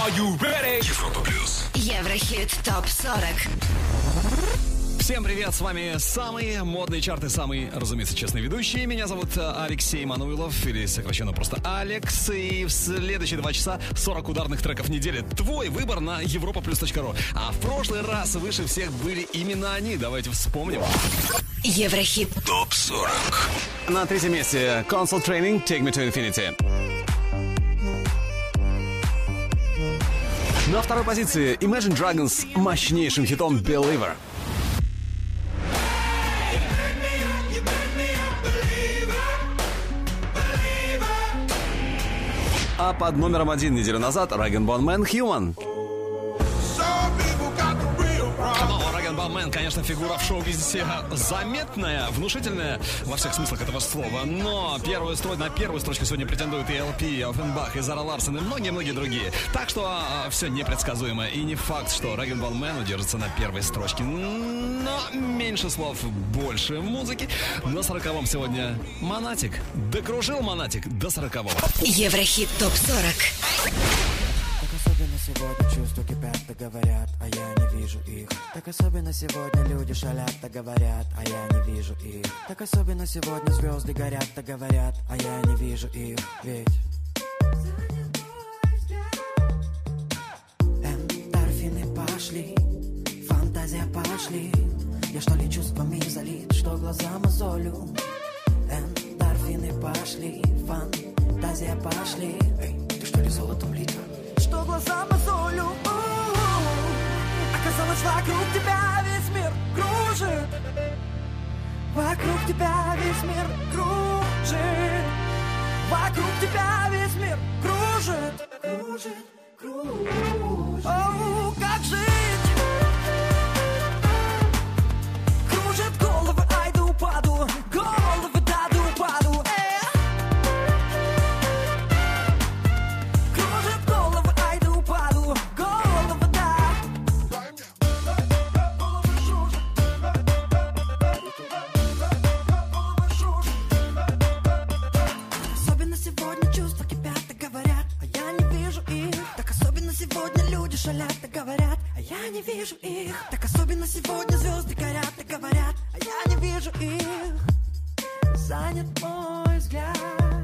Are you ready? Европа плюс. Еврохит ТОП-40. Всем привет, с вами самые модные чарты, самый, разумеется, честный ведущий. Меня зовут Алексей Мануилов, или сокращенно просто Алекс. И в следующие 2 часа 40 ударных треков недели. Твой выбор на europaplus.ru. А в прошлый раз выше всех были именно они. Давайте вспомним. Еврохит ТОП-40. На третьем месте Console Training Take Me to Infinity. На второй позиции Imagine Dragons с мощнейшим хитом Believer. А под номером 1 неделю назад Rag & Bone Man Human. Rag & Bone Man, конечно, фигура в шоу-бизнесе заметная, внушительная во всех смыслах этого слова. Но на первую строчку сегодня претендуют и LP, и Offenbach, и Зара Ларсон, и многие-многие другие. Так что все непредсказуемо. И не факт, что Rag & Bone Man удержится на первой строчке. Но меньше слов, больше музыки. На 40-м сегодня Монатик. Докружил Монатик до 40-го. Еврохит ТОП-40. Так особенно сегодня чувства кипят, так говорят, а я не вижу их. Так особенно сегодня люди шалят, так говорят, а я не вижу их. Так особенно сегодня звезды горят, так говорят, а я не вижу их. Ведь эндорфины пошли, фантазия пошли. Я что ли чувствами залит, что глаза мозолю. Эндорфины пошли, фантазия пошли. Эй, ты что ли золотом лита? Что глаза мозолю. Оказалось, вокруг тебя весь мир кружит. Вокруг тебя весь мир кружит. Вокруг тебя весь мир кружит. Кружит, кружит. Оу, как жить? Кружит головы, ай да упаду. Головы, да да упаду. Шалят, так говорят, а я не вижу их. Так особенно сегодня звезды горят, так говорят, а я не вижу их. Занят мой взгляд.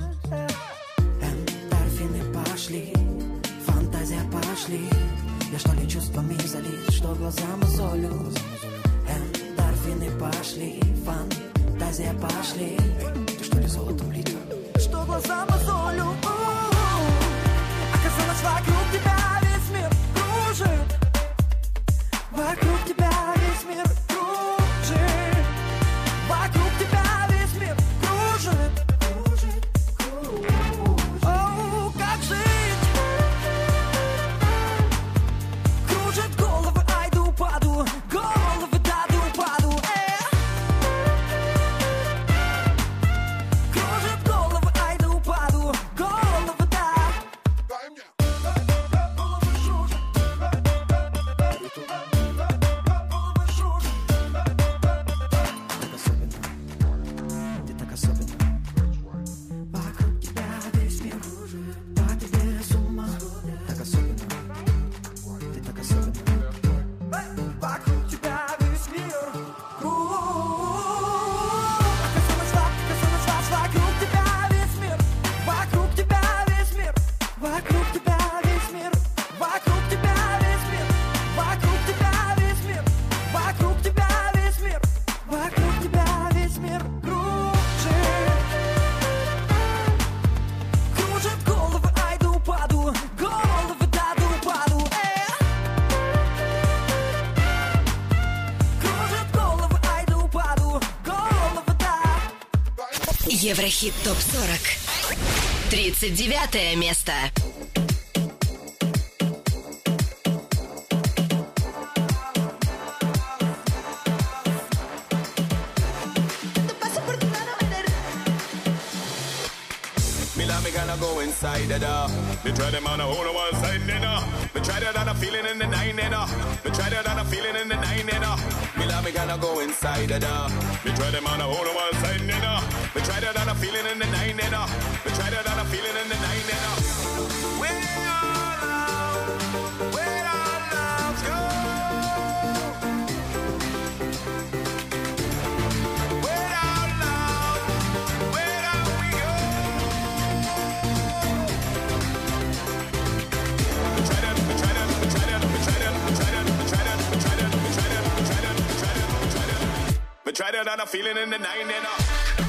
Эндорфины пошли, фантазия пошли. Я что ли чувствами залит, что глаза мозолю. Эндорфины пошли, фантазия пошли. Ты что ли золотом лита? Что глаза мозолю. Оказалось, вокруг тебя весь мир кружит. Вокруг тебя весь мир кружит. Вокруг тебя весь мир кружит. Кружит, кружит. Оу, как жить? Кружит головы, ай да упаду. Головы, да да упаду. Кружит головы, ай да упаду. Головы, да. Еврохит ТОП-40. 39 место. Go inside the door. They try them on a whole one side, you know. They try that on a feeling in the nine, you know. They try that on a feeling in the nine, you know. Me love me gonna go inside the door. They try them on a whole one side, you know. They try that on a feeling in the nine, you know. They try that on a feeling in the nine, you know. We all out. try that on a feeling in the nine, you know.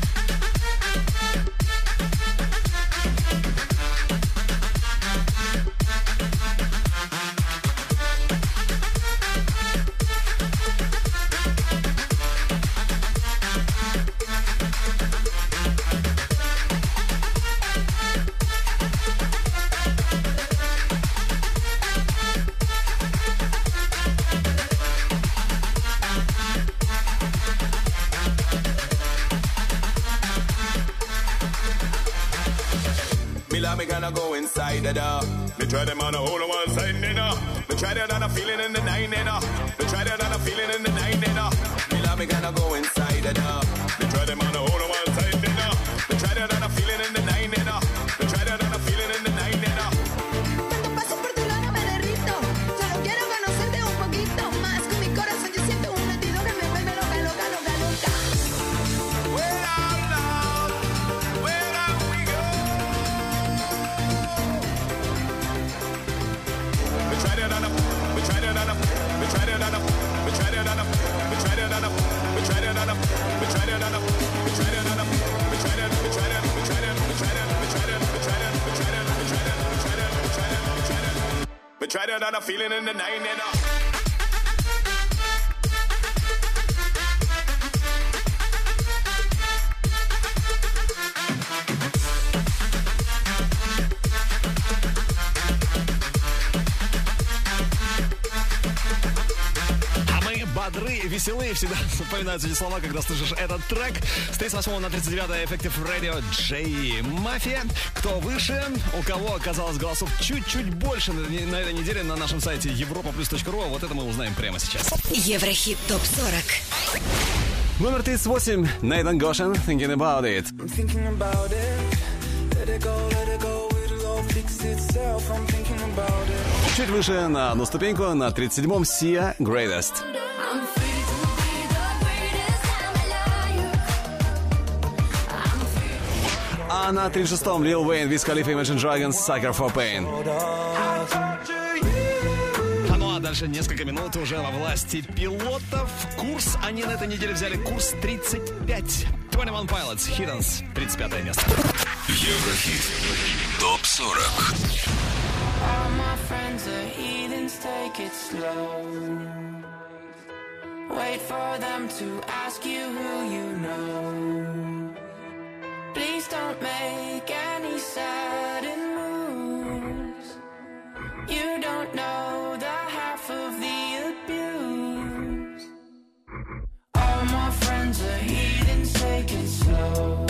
Me gonna go inside the door. Me try them on a whole one side, you know. Me try that on a feeling in the nine, you know. Me try that on a feeling in the nine, you know. Me gonna go inside the door. Me try them on a whole one side, you know. Me try that on a feeling in the nine, you know. Me try that on a feeling in the nine, you know. Cuando paso por tu lado me derrito. Solo quiero conocerte un poquito más. Con mi corazón yo siento un latido que me vuelve loca, loca, loca, loca. Well, out, where are we go? We try that on a, we try that on a, we try that on a, we try that on a, we try that on a, we try that on a, we try that on a, we try that on a, we try that, we try that, we try that, we try that, we try that, we try that, we try that, we try that, we try that, we try that, we try that, we try that on a feeling in the nine, you know. Бодры, веселые, всегда вспоминаются эти слова, когда слышишь этот трек. С 38 на 39 Effective Radio J Mafia. Кто выше, у кого оказалось голосов чуть-чуть больше на этой неделе на нашем сайте europaplus.ru. Вот это мы узнаем прямо сейчас. Еврохит ТОП-40. Номер 38. Nathan Goshen, Thinking About It. I'm thinking about it. Let it go, it'll all fix itself. I'm thinking about it. Чуть выше на одну ступеньку, на 37-м Sia Greatest. А на 36-м Lil Wayne, Wiz Khalifa, Imagine Dragons, Sucker for Pain. Ну а дальше несколько минут уже во власти пилотов. Курс они на этой неделе взяли курс 35. 21 Pilots, Hiddens, 35 место. Еврохит ТОП-40. All my friends are heathens, take it slow. Wait for them to ask you who you know. Please don't make any sudden moves. You don't know the half of the abuse. All my friends are heathens, take it slow.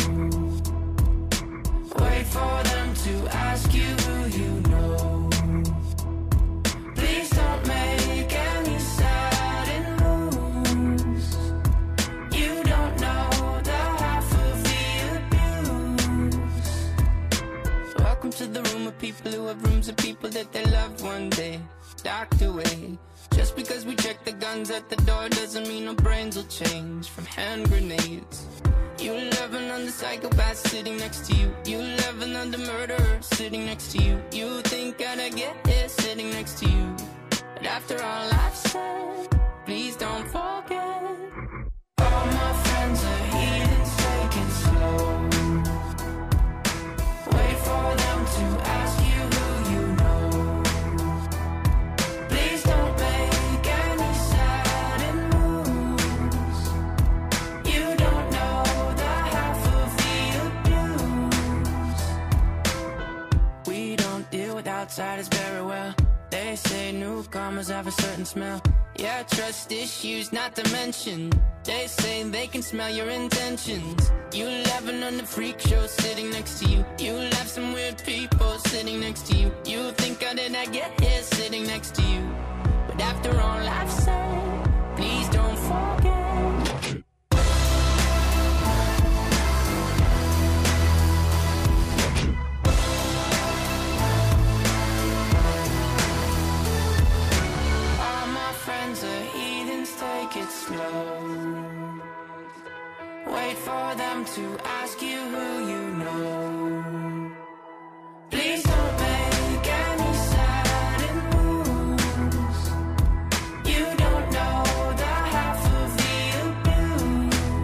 Wait for them to ask you who you know. Please don't make any sudden moves. You don't know the half of the abuse. Welcome to the room of people who have rooms of people that they loved one day docked away. Just because we check the guns at the door doesn't mean our brains will change from hand grenades. You love another psychopath sitting next to you. You love another murderer sitting next to you. You think I'd get here sitting next to you. But after all I've said, please don't forget. All my friends are heathens, take it slow. Wait for them to ask you who you know. Please don't make any sudden moves. You don't know the half of the abuse. We don't deal with outsiders very well. They say newcomers have a certain smell. Yeah, trust issues not to mention. They say they can smell your intentions. You laughing on the freak show sitting next to you. You laugh some weird people sitting next to you. You think how did I get here sitting next to you? But after all I've said, please don't forget. Take it slow. Wait for them to ask you who you know. Please don't make any sudden moves. You don't know the half of the abuse.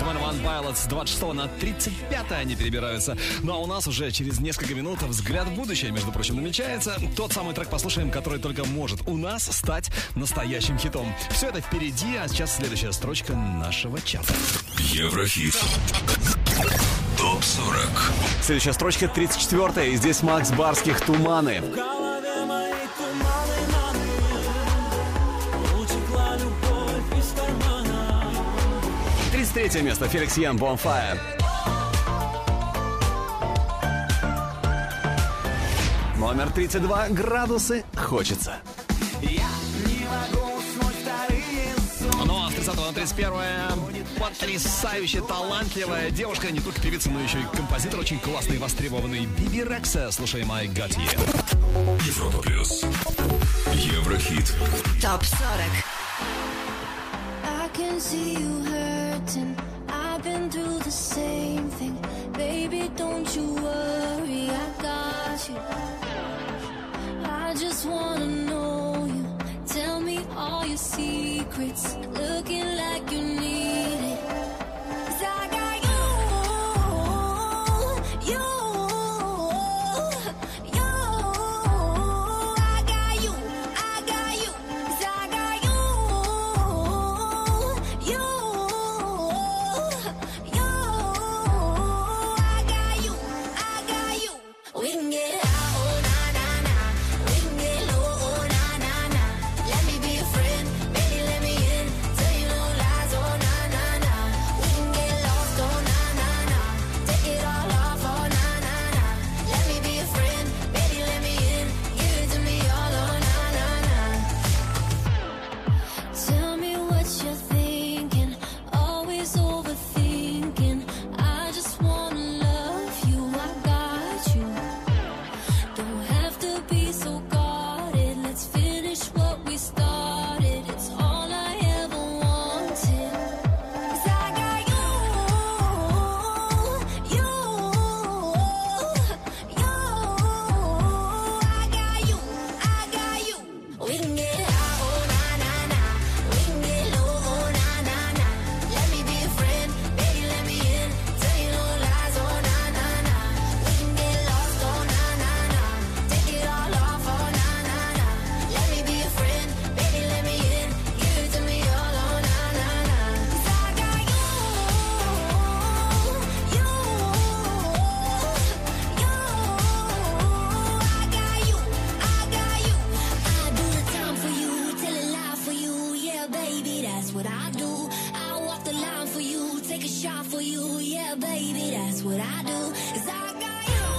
One Pilots. 26 на 35 они перебираются. Ну а у нас уже через несколько минут взгляд в будущее, между прочим, намечается. Тот самый трек послушаем, который только может у нас стать настоящим хитом. Все это впереди, а сейчас следующая строчка нашего чата. Еврохит. ТОП-40. Следующая строчка 34-я, и здесь Макс Барских «Туманы». 33 место, Феликс Ян, Bonfire. Номер 32, «Градусы хочется». Ну а с 30 на 31 потрясающе талантливая девушка, не только певица, но еще и композитор, очень классный и востребованный, Биби Рекса. Слушаем I Got You. Европа плюс. Еврохит. ТОП-40. I can see you hurting. I've been through the same thing. Baby, don't you worry, I got you. I just wanna know you. Tell me all your secrets. Looking like you need it. 'Cause I got you. I got you. 'Cause I got you. We can get high, oh na na na. We can get low, oh na na na. Let me be your friend, baby, let me in. Tell you no lies, oh na na na. We can get lost, oh na na na. Take it all off, oh na na na. Let me be your friend, baby, let me in. Give it to me all, oh na na na. Tell me what you're thinking, always overthinking. I just wanna love you, I got you. Don't have to be so guarded. Let's finish what we started. It's all I ever wanted. 'Cause I got you. I got you. We can get high, oh na na na. We can get low, oh na na na. Let me be your friend, baby, let me in. Tell you no lies, oh na na na. We can get lost, oh na na na. Take it all off, oh na na na. Let me be your friend, baby, let me in. Give it to me all, oh na na na. 'Cause I got you. I got you. I do the time for you, tell a lie for you, yeah, baby, that's what I do. I walk the line for you, take a shot for you, yeah, baby, that's what I do. 'Cause I got you,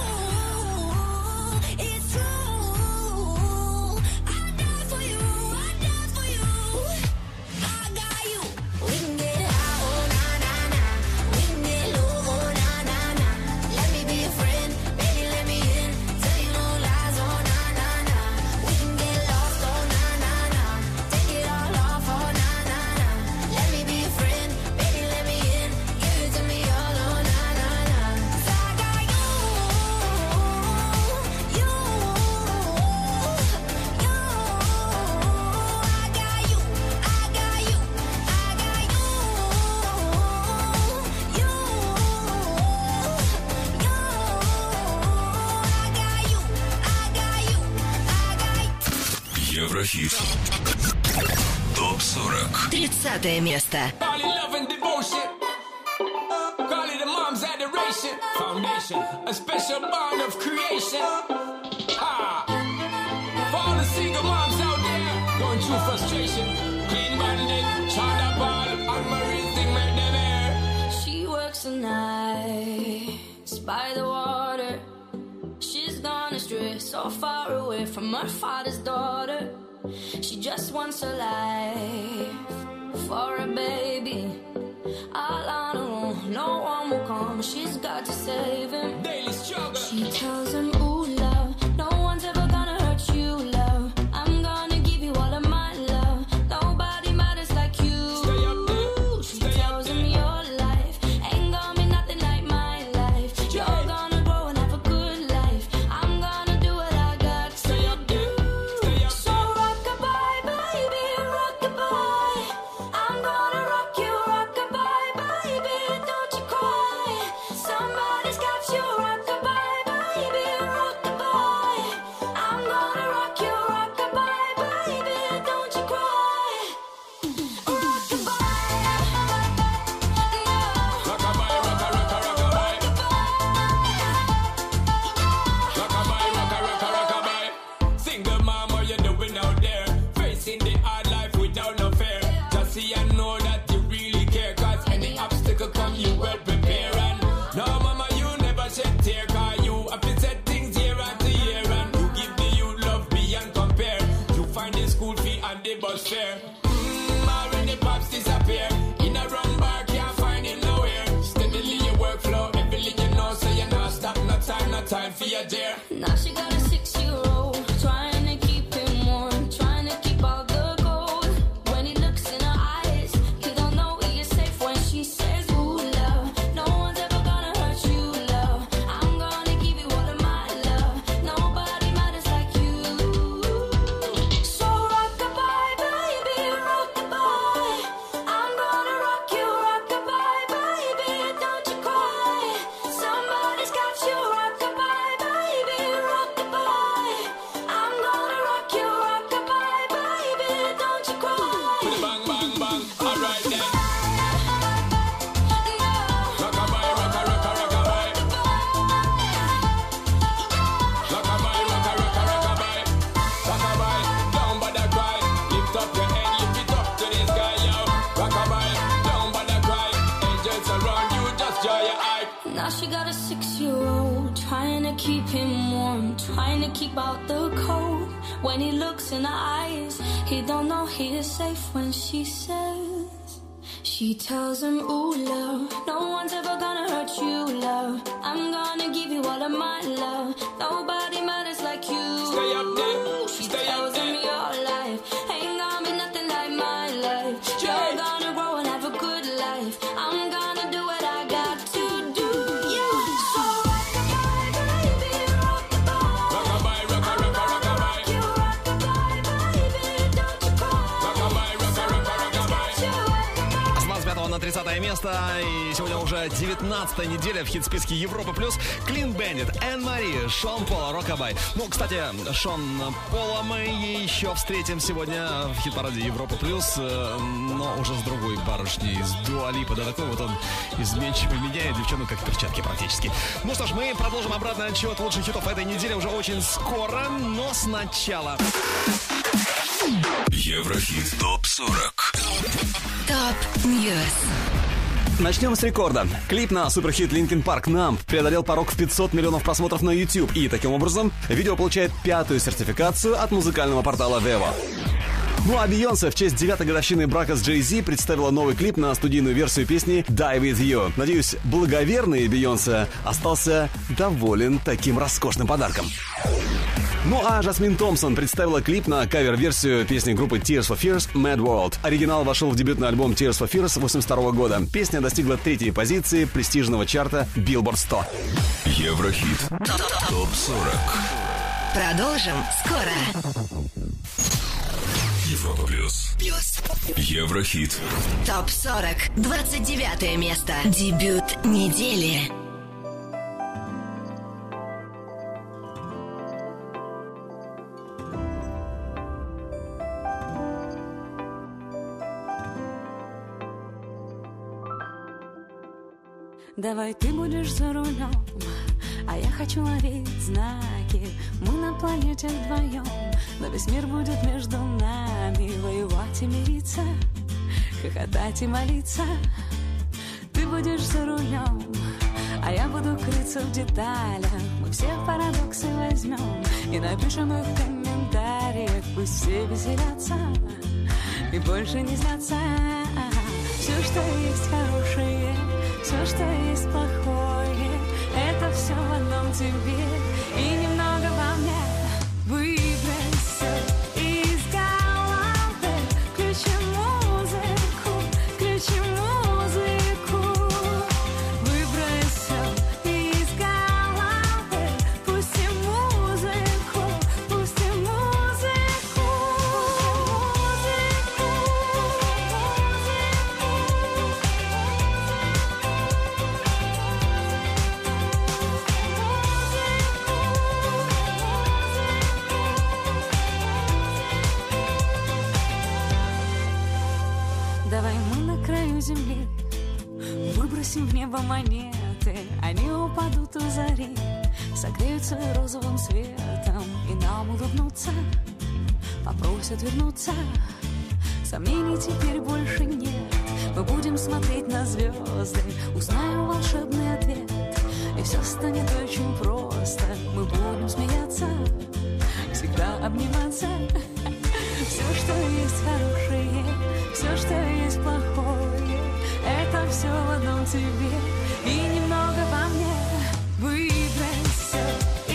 it's true. I die for you, I die for you. I got you. We can get high, oh na na na. We can get low, oh na na na. Let me be your friend, baby, let me in. Tell you no lies, oh na na na. We can get lost, oh na na na. Take it all off, oh na na na. Let me be your friend, baby, let me in. Give it to me all, oh na na na. 'Cause I got you. I got you. Еврохит. ТОП-40. 30 место. Call it love and devotion. Call it a mom's adoration. Foundation, a special bond of creation. Ah. For all the single moms out there going through frustration. Clean bandit, China ball, and Marie thing made them air. She works the nights by the water. She's gone astray, so far away from her father's daughter. She just wants a life for a baby. All on her own, no one will come. She's got to save him. Daily struggle. She tells him, ooh, love, no one's ever gonna hurt you, love. I'm gonna give you all of my love. Nobody matters like you. Stay up there. She Stay up tells him there. your life ain't gonna be nothing like my life. You're gonna grow and have a good life. I'm gonna do what I got to Stay up do. there. Stay up So rock-a-bye, baby, rock-a-bye. I'm gonna rock you, rock-a-bye, baby. ride for your dear. Now she got a 6-year-old, trying to keep him warm, trying to keep all the gold. When he looks in her eyes, he don't know he is safe when she says, ooh, love, no one's ever gonna hurt you, love. I'm gonna give you all of my love. Nobody matters like you. So rock-a-bye, baby, rock-a-bye. I'm gonna rock you, rock-a-bye, baby, don't you cry. Somebody's got you, rock-a-bye, baby, rock-a-bye. I'm gonna rock you, rock-a-bye, baby, don't you cry. Bang, bang, bang. All right then. No. Rock-a-bye, rocka, rocka, rock-a-bye. Rock-a-bye, rocka, rocka, rock-a-bye. Rock-a-bye, don't bother cry. Lift up your head, lift it up to the sky, yo. Rock-a-bye, don't bother cry. Angels around you, just dry your eye. Now she got a 6-year-old, trying to keep him warm, trying to keep out the cold. When he looks in her eyes, he don't know he is safe when she says, she tells him, ooh, love, no one's ever gonna hurt you, love. I'm gonna give you all of my love. Nobody matters like you. Stay up there, She stay up tells him there. your life ain't gonna be nothing like my life. You're gonna grow and have a good life. I'm gonna do what I got to do. So rock-a-bye, baby, rock-a-bye. Rock-a-bye, rocka, rocka, rock-a-bye. You rock-a-bye, baby, don't you cry. Rock-a-bye, rocka, rocka, rock-a-bye. С 25 на 30 место. И сегодня уже 19-я неделя в хит-списке Европа+. Клин Бендит, Энн Мари, Шон Пол, Рокабай. Ну, кстати, Шон Пола мы еще встретим сегодня в хит-параде Европа+, но уже с другой барышней, с Дуа Липа. Да такой вот он изменчивый, меняет девчонок как перчатки практически. Ну что ж, мы продолжим обратный отсчет лучших хитов этой недели уже очень скоро, но сначала... Еврохит ТОП-40. ТОП Ньюс. Начнем с рекорда. Клип на суперхит Linkin Park «Numb» преодолел порог в 500 миллионов просмотров на YouTube, и таким образом видео получает 5-ю сертификацию от музыкального портала Vevo. Ну а Бейонсе в честь 9-й годовщины брака с Jay-Z представила новый клип на студийную версию песни «Die With You». Надеюсь, благоверный Бейонсе остался доволен таким роскошным подарком. Ну а Жасмин Томпсон представила клип на кавер-версию песни группы Tears for Fears «Mad World». Оригинал вошел в дебютный альбом Tears for Fears 1982 года. Песня достигла 3-й позиции престижного чарта Billboard 100. Еврохит ТОП-40. Продолжим скоро. Европа плюс. Еврохит. ТОП-40. 29 место. Дебют недели. Давай ты будешь за рулем, а я хочу ловить знаки. Мы на планете вдвоем, но весь мир будет между нами. Воевать и мириться, хохотать и молиться. Ты будешь за рулем, а я буду крыться в деталях. Мы все парадоксы возьмем и напишем их в комментариях. Пусть все веселятся и больше не злятся. Все, что есть хорошее, все, что есть плохое, это все в одном тебе и немного во мне. Выбросься из головы, включи музыку, включи музыку. Выбросься из головы, пусти музыку, пусти музыку. Давай мы на краю земли выбросим в небо монеты. Они упадут у зари, согреются розовым светом и нам улыбнутся, попросят вернуться. Сомнений теперь больше нет. Мы будем смотреть на звезды, узнаем волшебный ответ, и все станет очень просто. Мы будем смеяться, всегда обниматься. Все, что есть хорошее, все, что есть плохое, это все в одном тебе и немного во мне. Выбросься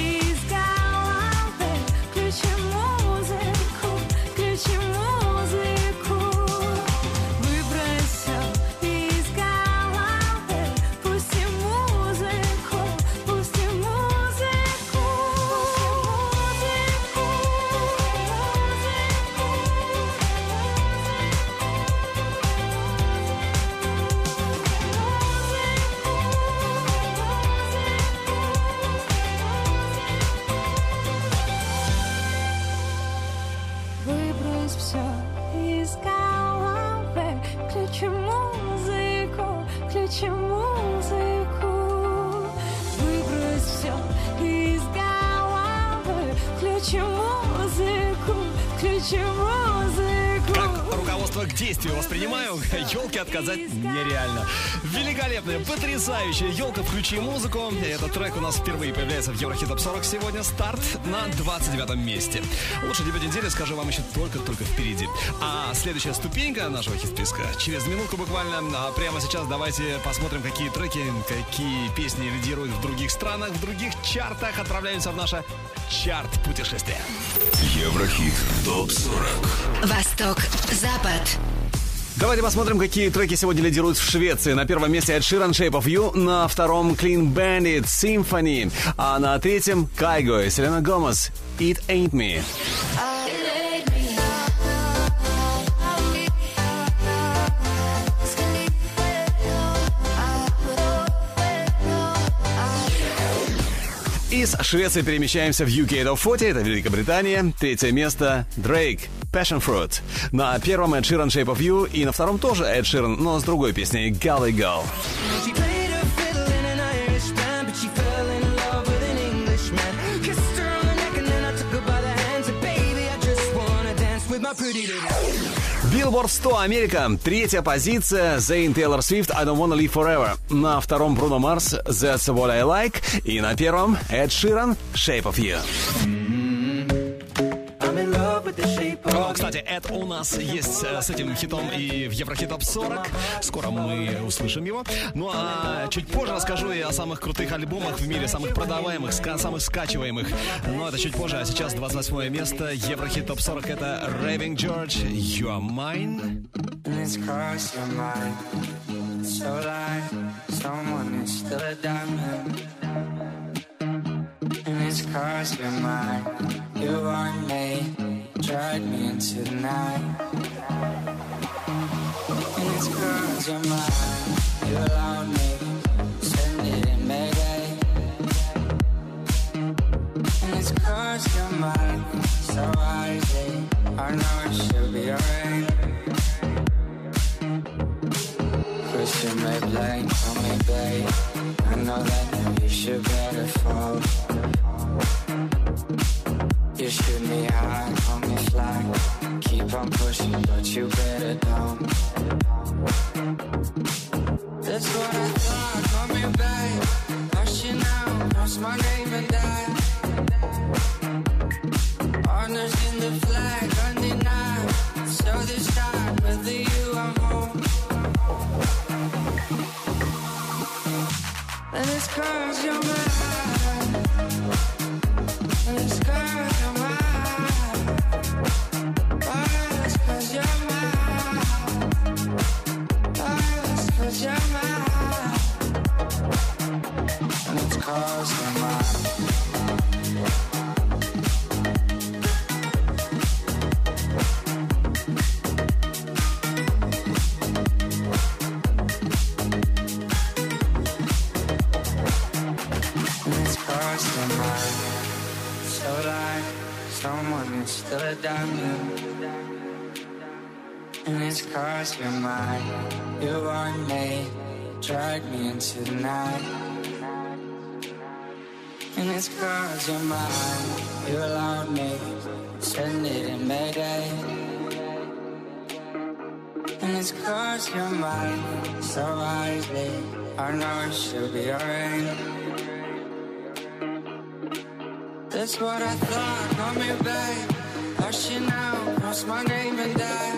включи музыку, выбрось все из головы, включи музыку, включи музыку. Как руководство к действию воспринимаю, елке отказать нереально. Великолепная, потрясающая елка, включи музыку. Этот трек у нас впервые появляется в Еврохит Топ 40 сегодня. Старт на 29-м месте. Лучший дебют недели, скажу вам, еще только впереди. А следующая ступенька нашего хит-списка через минутку буквально. А прямо сейчас давайте посмотрим, какие треки, какие песни лидируют в других странах, в других чартах. Отправляемся в наше чарт-путешествие. Еврохит Топ 40. Восток, Запад. Давайте посмотрим, какие треки сегодня лидируют в Швеции. На первом месте Эд Ширан, Shape of You. На втором Clean Bandit, Symphony. А на третьем Кайго и Селена Гомес, It Ain't Me. Из Швеции перемещаемся в UK Top 40, это Великобритания. Третье место Drake, Passion Fruit. На первом Эд Ширан, Shape of You. И на втором тоже Эд Ширан, но с другой песней Gully Girl. Billboard 100 Америка. Третья позиция Zayn Taylor Swift, I Don't Wanna Live Forever. На втором Bruno Mars, That's What I Like. И на первом Эд Ширан, Shape of You. Кстати, Эд у нас есть с этим хитом и в Еврохит Топ 40. Скоро мы услышим его. Ну а чуть позже расскажу и о самых крутых альбомах в мире, самых продаваемых, самых скачиваемых. Но это чуть позже, а сейчас 28 место. Еврохит Топ 40 это Raving George, You Are Mine. Drag me into the night. And it's 'cause you're mine. You allowed me, send it in Mayday. And it's 'cause you're mine. So wisely, I know it should be alright. Christian May blame on me, babe. I know that you should better fall. You shoot me high, hold me fly. Keep on pushing, but you better don't. That's what I thought, call me babe. Hush you now, cross my name and die. Honors in the flag, undenied. So this time, with you I'm home. And it's 'cause you're mine. And it's 'cause you're mine. Oh, it's 'cause you're mine. Oh, it's 'cause you're mine. And it's 'cause you're mine. Someone is still a diamond. And it's 'cause you're mine. You want me, drag me into the night. And it's 'cause you're mine. You allowed me, send it in Mayday. And it's 'cause you're mine. So wisely, I know it should be alright. That's what I thought, call me babe. Hush you now, cross my name and die.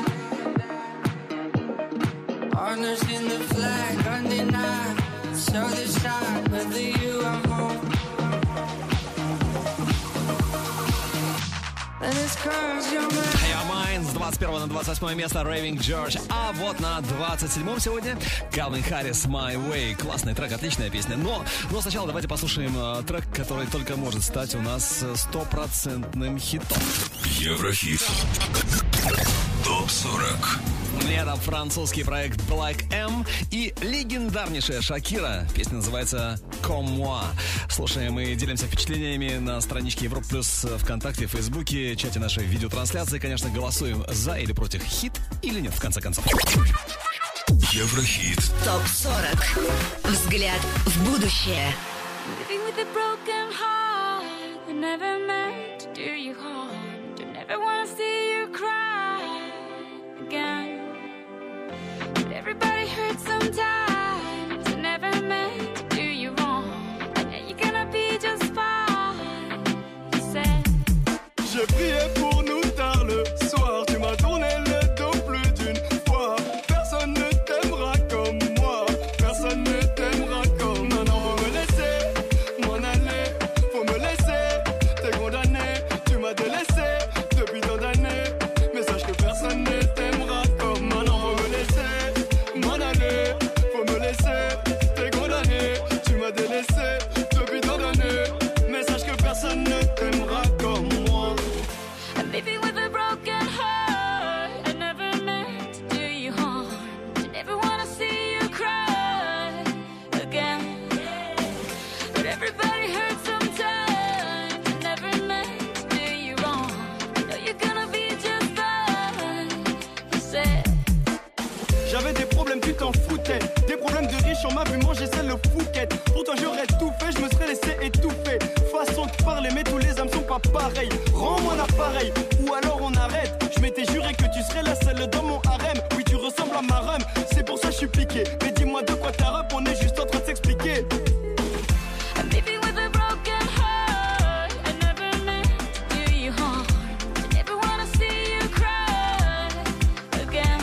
Honors in the flag, undenied. So this time, with you I'm home. And it's 'cause you're mine. You're Mine с 21 на 28 место Raving George. А вот на 27 сегодня Калвин Харрис My Way. Классный трек, отличная песня. Но сначала давайте послушаем трек, который только может стать у нас стопроцентным хитом. Еврохит Топ 40. Это французский проект Black M и легендарнейшая Шакира. Песня называется Comme Moi. Слушаем и делимся впечатлениями на страничке Европа Плюс ВКонтакте, Фейсбуке, чате нашей видеотрансляции. Конечно, голосуем за или против хит или нет, в конце концов. Еврохит. ТОП-40. Взгляд в будущее. Living with a broken heart, I never meant to do you harm. Don't ever wanna see you cry again. But everybody hurts sometimes. I never meant to do you wrong. And now you're gonna be just fine. You said. J'ai prié pour nous tard le soir. Tu m'as tourné le dos plus d'une fois. Personne ne t'aimera comme moi. Personne ne t'aimera comme moi. Non, faut me laisser m'en aller. Faut me laisser. T'es condamné. Tu m'as délaissé depuis tant d'années. Mais sache que personne ne t'aimera comme moi. Non, faut me laisser m'en aller. Faut me laisser. T'es condamné. Tu m'as délaissé depuis tant d'années. Mais sache que personne ne t'aimera comme moi. I'm living with a broken heart. I never meant to do you harm. I never wanna see you cry again. But everybody hurts sometimes. I never meant to do you wrong. I know you're gonna be just fine. You said. J'avais des problèmes, tu t'en foutais. Des problèmes de riches, on m'a vu manger celle le fouquet. Pour toi j'aurais tout fait, je me serais laissé étouffer. Façon de parler, mais tous les âmes sont pas pareils. Rends-moi l'appareil, ou alors on arrête. Je m'étais juré que tu serais la seule dans mon harem. Oui, tu ressembles à ma rhum, c'est pour ça que je suis piqué. Mais dis-moi de quoi t'as rep, on est juste en train de s'expliquer. I'm living with a broken heart. I never meant to do you harm. I never wanna see you cry again.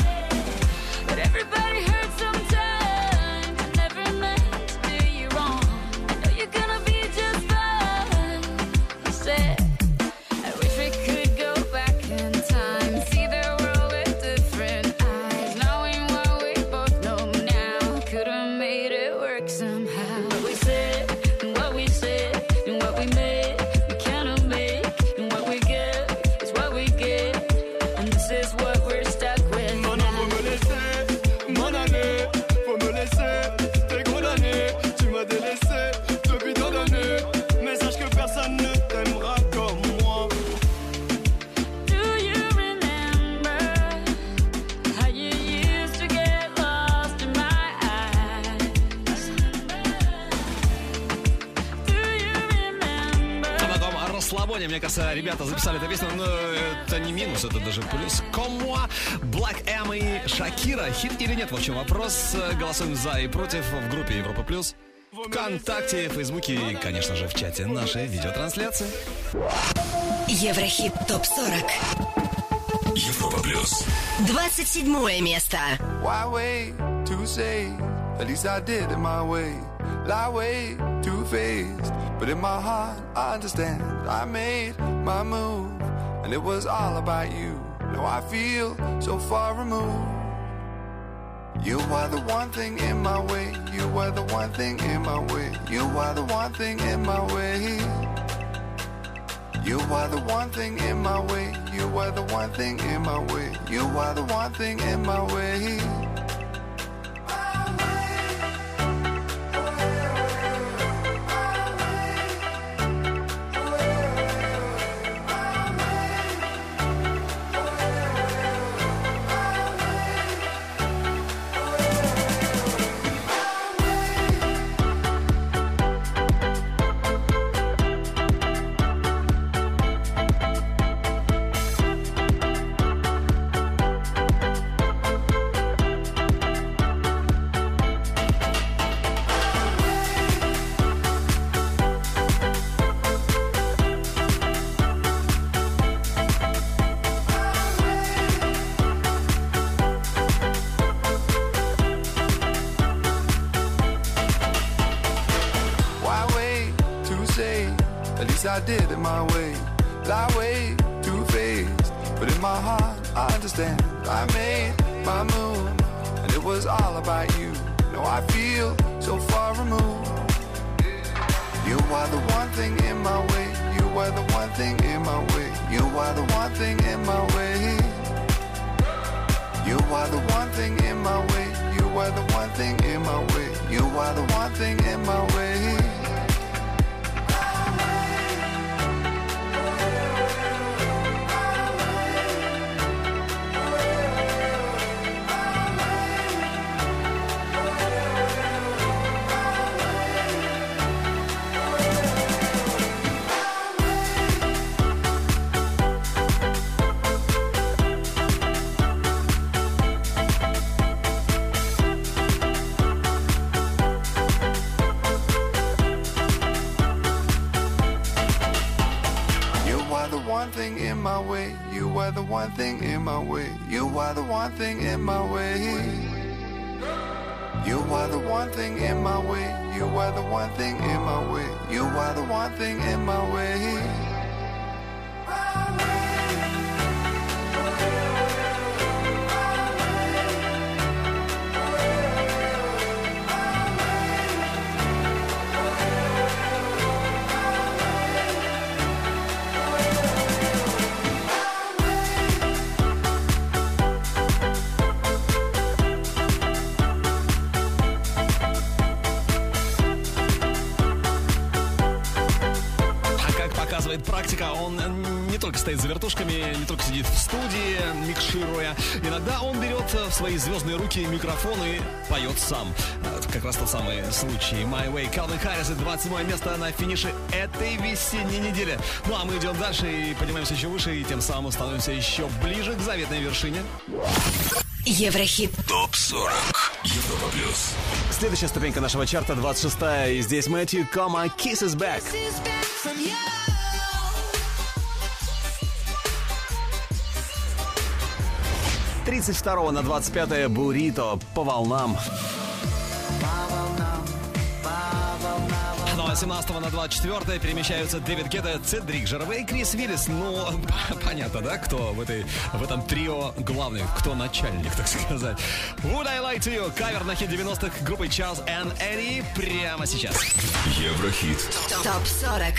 But everybody hurts sometimes. I never meant to do you wrong. I know you're gonna be just fine. You said, I wish we could go back in time, see the world with different eyes, knowing what we both know now. Could've made it work somehow. What we said, and what we said, and what we made, we cannot make, and what we get is what we get, and this is what we're stuck with. Non, non, faut me laisser m'en aller. Faut me laisser, t'es condamné. Tu m'as délaissé depuis tant d'années. Mais sache que personne ne t'aimera comme moi. Do you remember how you used to get lost in my eyes? Do you remember? А на том расслабоне, мне кажется, ребята записали эту песню, но это не минус, это даже плюс. Коммуа, Black M и Шакира. Хит или нет? В общем, вопрос. Голосуем за и против в группе Европа Плюс, ВКонтакте, Фейсбуке и, конечно же, в чате нашей видеотрансляции. Еврохит ТОП-40. Европа плюс. 27 место. Why wait to say? At least I did it my way. Lie way too faced, but in my heart I understand. I made my move, and it was all about you. Now I feel so far removed. You are the one thing in my way. You are the one thing in my way. You are the one thing in my way. You are the one thing in my way. You are the one thing in my way. You are the one thing in my way. I did it my way. Lie way too faced, but in my heart I understand. I made my move, and it was all about you. No, I feel so far removed. You are the one thing in my way. You are the one thing in my way. You are the one thing in my way. You are the one thing in my way. You are the one thing in my way. You are the one thing in my way. were the one thing in my way. You were the one thing in my way. You were the one thing in my way. You were the one thing in my way. You were the one thing in my way. Практика, он не только стоит за вертушками, не только сидит в студии, микшируя. Иногда он берет в свои звездные руки микрофон и поет сам. Это как раз тот самый случай. My Way, Калвин Харрис, 27 место на финише этой весенней недели. Ну а мы идем дальше и поднимаемся еще выше, и тем самым становимся еще ближе к заветной вершине. Еврохит. ТОП-40. Европа плюс. Следующая ступенька нашего чарта, 26-я. И здесь Мэтью Кома, Kiss is Back. 32 на 25-е Бурито по волнам. Ну а 17 на 24-е перемещаются Дэвид Гетта, Цедрик Жервей и Крис Виллис. Ну, понятно, да, кто в этом трио главный, кто начальник, так сказать. Would I Lie to You? Кавер на хит 90-х группы Charles and Eddie прямо сейчас. Еврохит. ТОП-40.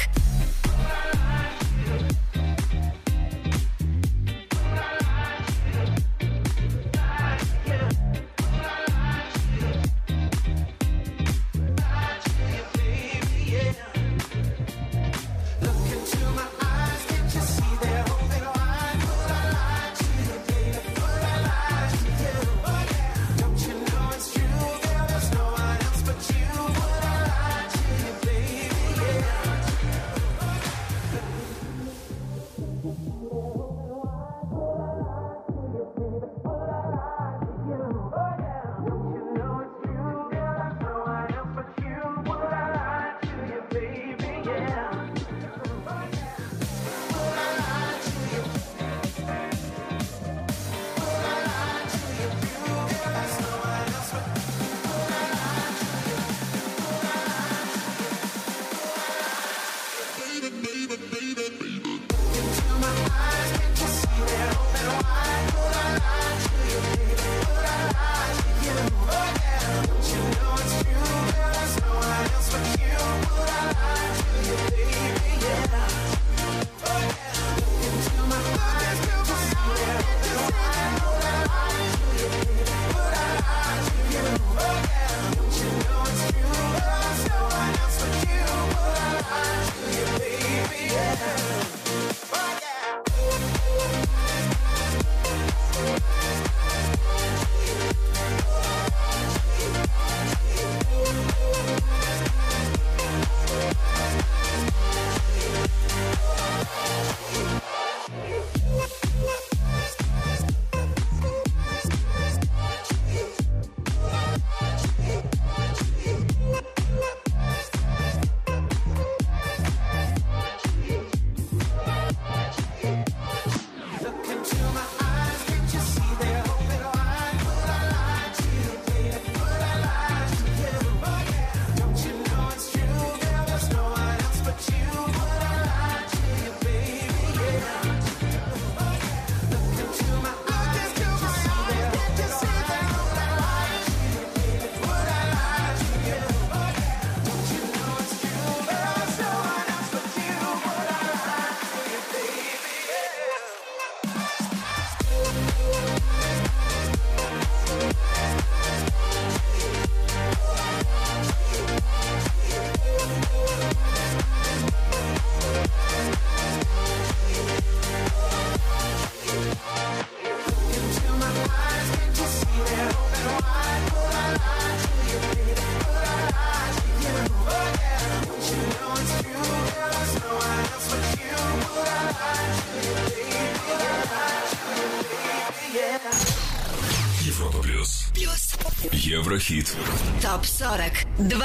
Еврохит. ТОП-40.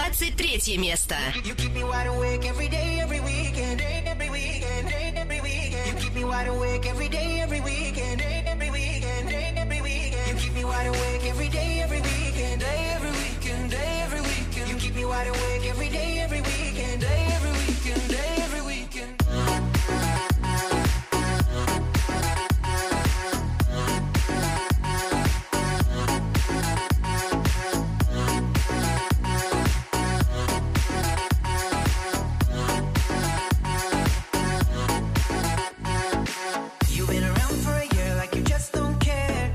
23 место. wide awake every day, every weekend, every weekend, every weekend. You keep me wide awake every day, every weekend, every weekend, every weekend. You keep me wide awake every day, every weekend, every weekend, every weekend. You've been around for a year like you just don't care.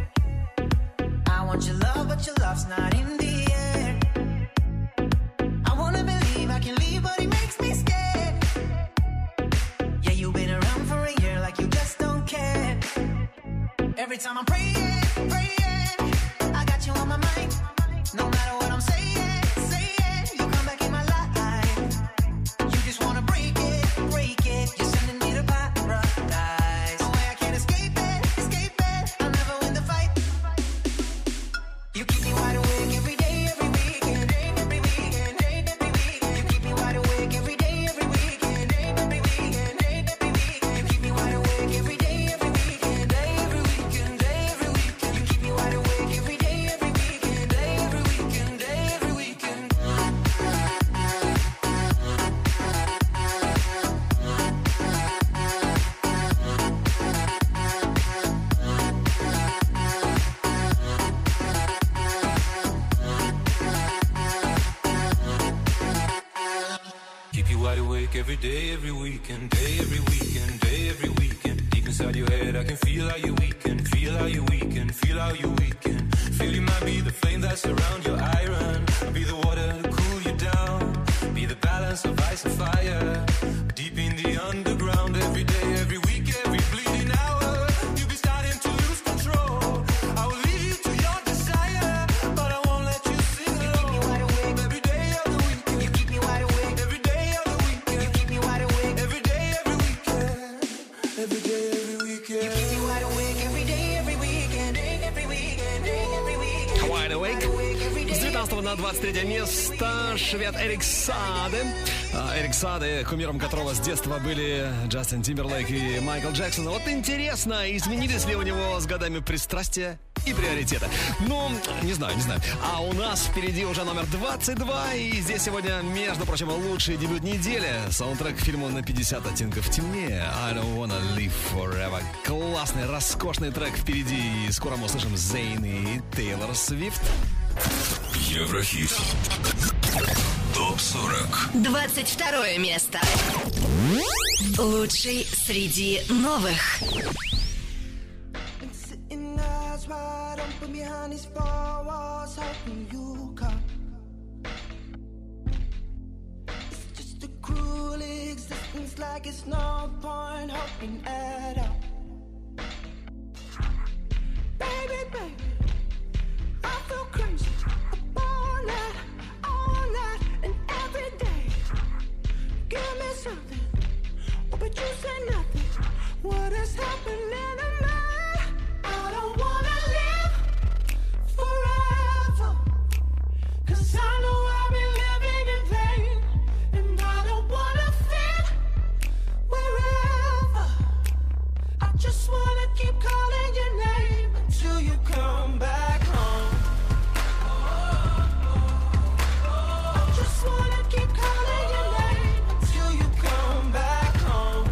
I want your love, but your love's not in the air. I wanna believe I can leave, but it makes me scared. Yeah, you've been around for a year like you just don't care. Every time I'm praying, praying, I got you on my mind. No matter what I'm saying, saying, you come back in my life. You just wanna break it, break it. You're sending me to paradise. No way I can't escape it, escape it. I'll never win the fight. You keep me wide awake every day, every weekend, every weekend, every weekend. You keep me wide awake every day, every weekend, every weekend, every weekend. You keep me wide awake every day, every weekend, every weekend, every weekend. You keep me wide awake every day, every weekend, every weekend, every weekend. Keep you wide awake every day, every weekend, day, every weekend, day, every weekend. Deep inside your head, I can feel how you weaken, feel how you weaken, feel how you weaken. Feel you might be the flame that surrounds your iron. I'll be the water to cool you down. Be the balance of ice and fire. Deep in the underground, every day, every week, every bleeding hour. You'll be starting to lose control. I will lead you to your desire, but I won't let you sing alone. Every day of the weekend, You keep me wide awake. every day of the weekend, You keep me wide awake. every day, every weekend, every day, every weekend. You keep me wide awake every day, every weekend, every weekend, every weekend. Wide Awake. С 19 на 23 место швед Эрик Саде. Эрик Саде, кумиром которого с детства были Джастин Тимберлейк и Майкл Джексон. Вот интересно, изменились ли у него с годами пристрастия и приоритеты? Ну, не знаю. А у нас впереди уже номер 22. И здесь сегодня, между прочим, лучший дебют недели. Саундтрек к фильму «На 50 оттенков темнее». I don't wanna live forever. Классный, роскошный трек впереди. И скоро мы услышим Зейн и Тейлор Свифт. Еврохит. ТОП-40. 22 место. Лучший среди новых. Been sitting eyes wide open behind these four walls, hoping you come. It's just a cruel existence, like it's no point hoping at all. Baby, baby, I feel crazy up all night, and every day. Give me something, oh, but you say nothing. What is happening to me? I don't wanna live forever, 'cause I know I've been living in vain, and I don't wanna fit wherever. I just wanna keep calling your name until you come back home. I just wanna keep calling your name until you come back home.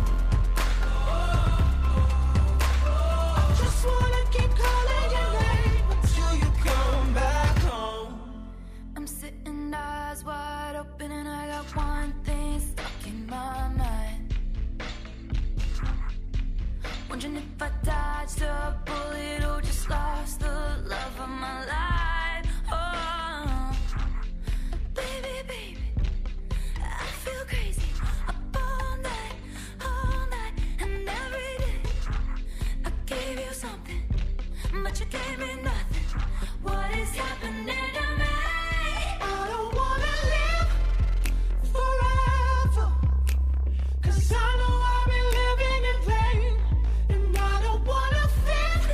I just wanna keep calling your name until you come back home. I'm sitting eyes wide open and I got one thing stuck in my mind. Wondering if I dodged a bullet or just lost the love of my life. Oh, baby, baby, I feel crazy up all night, and every day. I gave you something, but you gave me nothing. What is happening to me? I don't wanna live forever, 'cause I know I've been living in vain, and I don't wanna fit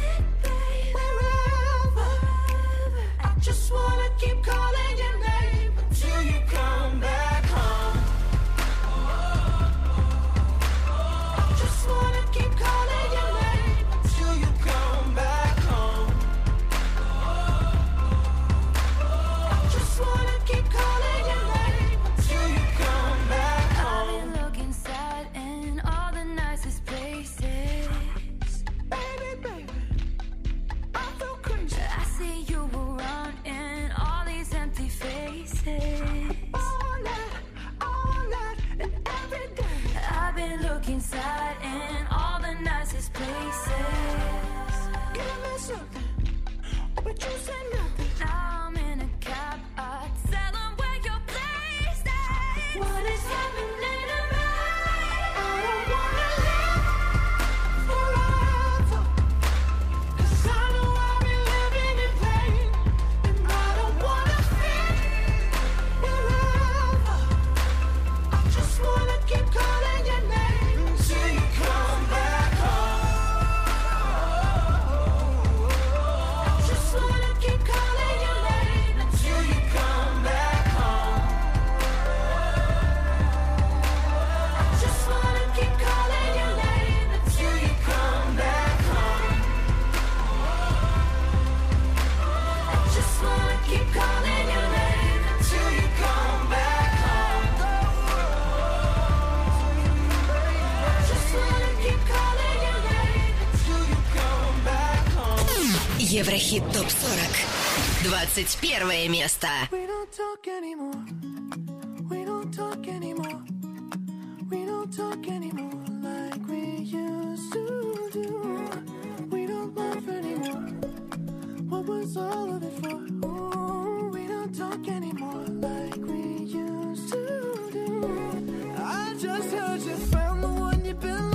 Еврохит ТОП-40. 21 место. We don't talk anymore. We don't talk anymore. We don't talk anymore like we used to do. We don't laugh anymore. What was all of it for? Ooh, we don't talk anymore like we used to do. I just heard you found the one you've been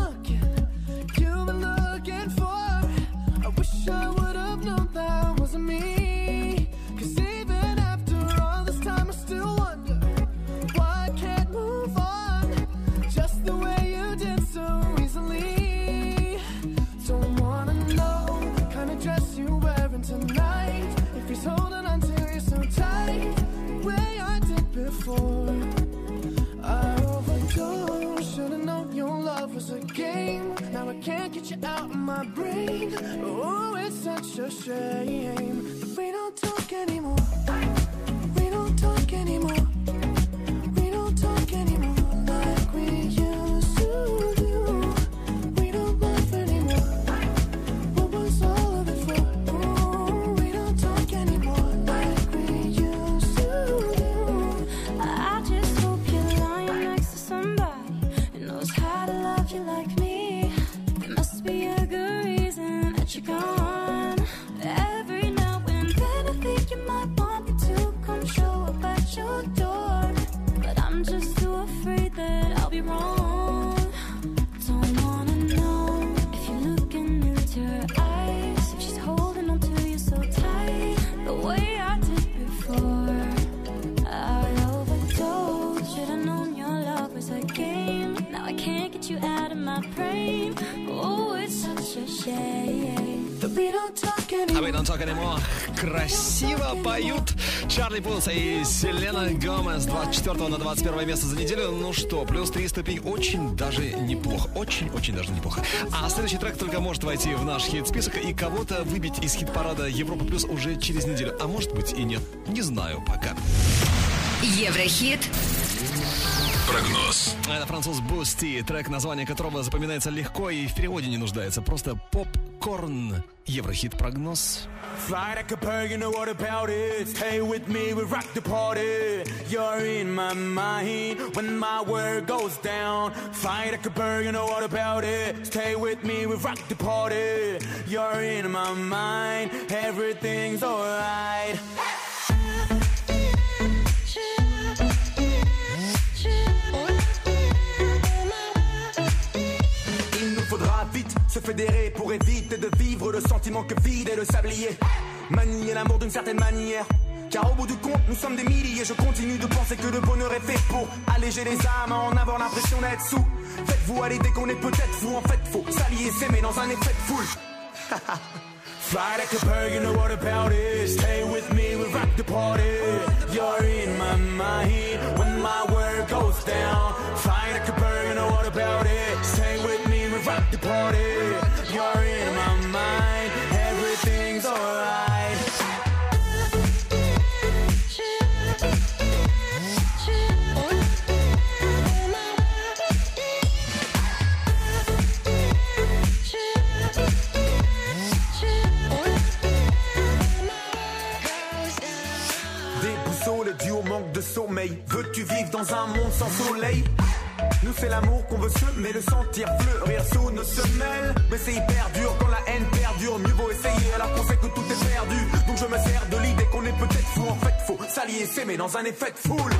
looking for. I wish I would have known that wasn't me. 'Cause even after all this time I still wonder why I can't move on just the way you did so easily. Don't wanna know the kind of dress you're wearing tonight, if he's holding on to you so tight, the way I did before. I overdosed, should've known your love was a game. Now I can't get you out of my brain. Oh, it's such a shame that we don't talk anymore. We don't talk anymore. We don't talk anymore like we used to do. We don't laugh anymore. What was all of it for? Oh, we don't talk anymore like we used to do. I just hope you're lying next to somebody who knows how to love you like me. There must be a good reason that you're gone. Every now and then I think you might want me to come show up at your door, but I'm just too afraid that I'll be wrong. Don't wanna know if you're looking into her eyes, if she's holding on to you so tight, the way I did before. I overdosed, should've known your love was a game. Now I can't get you out of my brain. Oh, it's such a shame that we don't talk anymore. А вы Don't Talk Anymore красиво поют Чарли Пулс и Селена Гомес. 24 на 21 место за неделю. Ну что, плюс 3 ступень. Очень даже неплохо. Очень даже неплохо. А следующий трек только может войти в наш хит-список и кого-то выбить из хит-парада Европа Плюс уже через неделю. А может быть и нет. Не знаю пока. Еврохит. Прогноз. Это француз Бусти, трек, название которого запоминается легко и в переводе не нуждается. Просто попкорн. Еврохит прогноз. Fly like a bird, you know what about it. Stay with me, we rock the party. You're in my mind when my world goes down. Fly like a bird, you know what about it. Stay with me, we rock the party. You're in my mind, everything's alright. Faudra vite se fédérer pour éviter de vivre le sentiment que vide est le sablier. Manier l'amour d'une certaine manière, car au bout du compte nous sommes des milliers. Je continue de penser que le bonheur est fait pour alléger les âmes, en avoir l'impression d'être sous. Faites-vous à l'idée qu'on est peut-être fou, en fait faut s'allier, s'aimer dans un effet de foule. Fly like a bird, you know what about it. Stay with me, we rock the party. You're in my mind when my world goes down. Fly like a bird, you know what about it. Stay with me, we rock the party. You're in my mind, everything's alright. Dû au manque de sommeil. Veux-tu vivre dans un monde sans soleil? Nous c'est l'amour qu'on veut semer, le sentir fleurir sous nos semelles. Mais c'est hyper dur quand la haine perdure. Mieux vaut essayer alors qu'on sait que tout est perdu. Donc je me sers de l'idée qu'on est peut-être fou. En fait faut s'allier, s'aimer dans un effet de foule.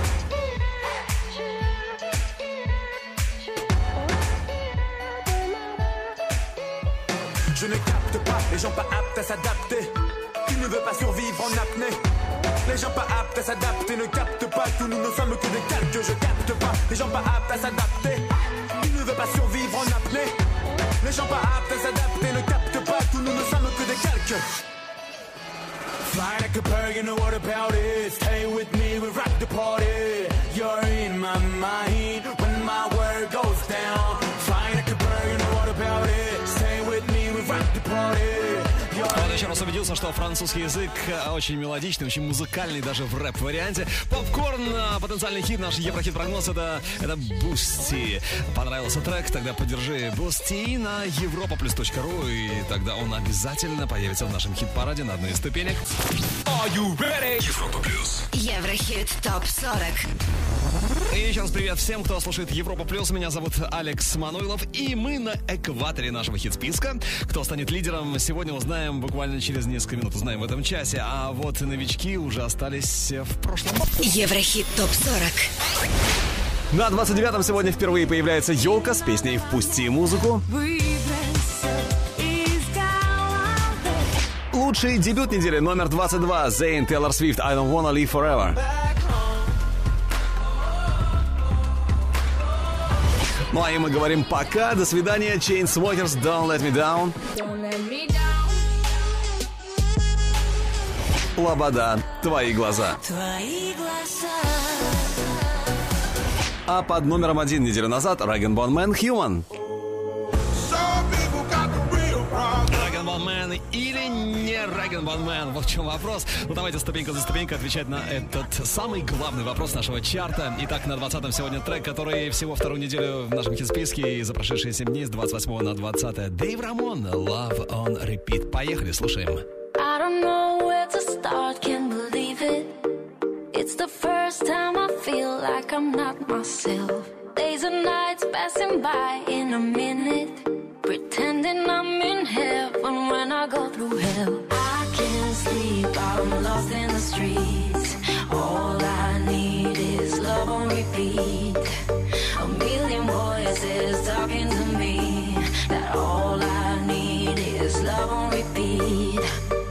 Je ne capte pas les gens pas aptes à s'adapter. Tu ne veux pas survivre en apnée. Les gens pas aptes à s'adapter ne captent pas tout, nous ne sommes que des calques, je capte pas. Les gens pas aptes à s'adapter, tu ne veux pas survivre en apnée. Les gens pas aptes à s'adapter ne captent pas tout, nous ne sommes que des calques. Fly like a bird, you know what about it. Stay with me, we rock the party. You're in my mind when my world goes down. Fly like a bird, you know what about it. Stay with me, we rock the party. Он еще раз убедился, Ясно, что французский язык очень мелодичный, очень музыкальный, даже в рэп-варианте. Попкорн, потенциальный хит, наш Еврохит-прогноз, это Boosty. Понравился трек? Тогда поддержи Boosty на europaplus.ru, и тогда он обязательно появится в нашем хит-параде на одной из ступенек. Are you ready? Европа Плюс. Еврохит ТОП-40. И еще раз привет всем, кто слушает Европа Плюс. Меня зовут Алекс Мануилов, и мы на экваторе нашего хит-списка. Кто станет лидером, сегодня узнаем буквально через несколько минут, узнаем в этом часе. А вот новички уже остались в прошлом. Еврохит ТОП-40. На 29-м сегодня впервые появляется Ёлка с песней «Впусти музыку». Лучший дебют недели номер 22. Зейн, Тейлор Свифт, I Don't Wanna Live Forever. Ну а и мы говорим пока, до свидания. Chainsmokers, Don't Let Me Down. Лобода, Твои глаза. Твои глаза. А под номером 1 неделю назад Rag & Bone Man, Human. Rag & Bone Man или не Rag & Bone Man? Вот в чем вопрос. Ну давайте ступенька за ступенькой отвечать на этот самый главный вопрос нашего чарта. Итак, на 20-м сегодня трек, который всего вторую неделю в нашем хит-списке, и за прошедшие 7 дней с 28 на 20. Дэйв Рамон, Love on Repeat. Поехали, слушаем. I don't know where to start, can't believe it. It's the first time I feel like I'm not myself. Days and nights passing by in a minute, pretending I'm in heaven when I go through hell. I can't sleep, I'm lost in the streets. All I need is love on repeat. A million voices talking to me, that all I need is love on repeat.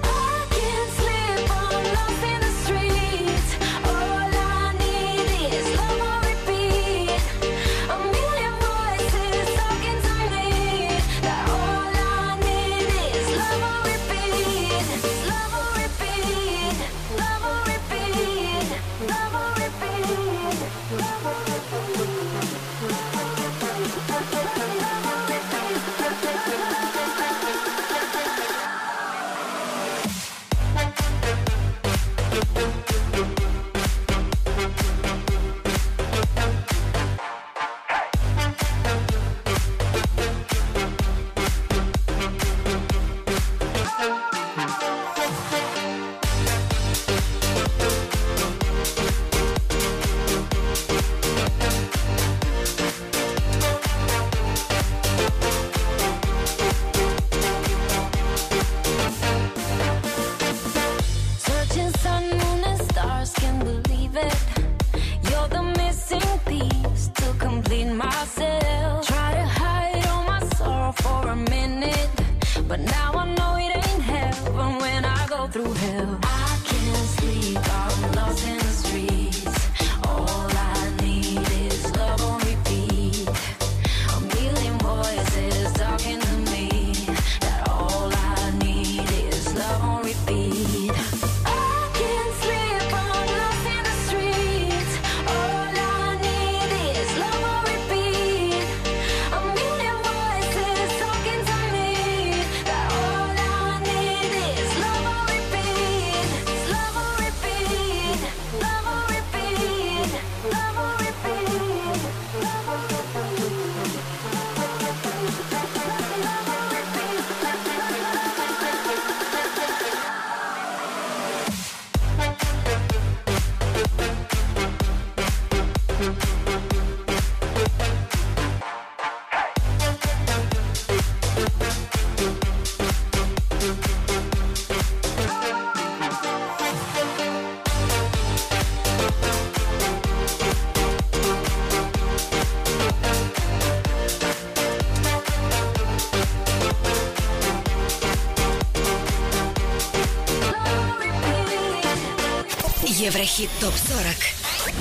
Еврохит ТОП-40.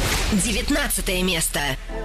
19 место.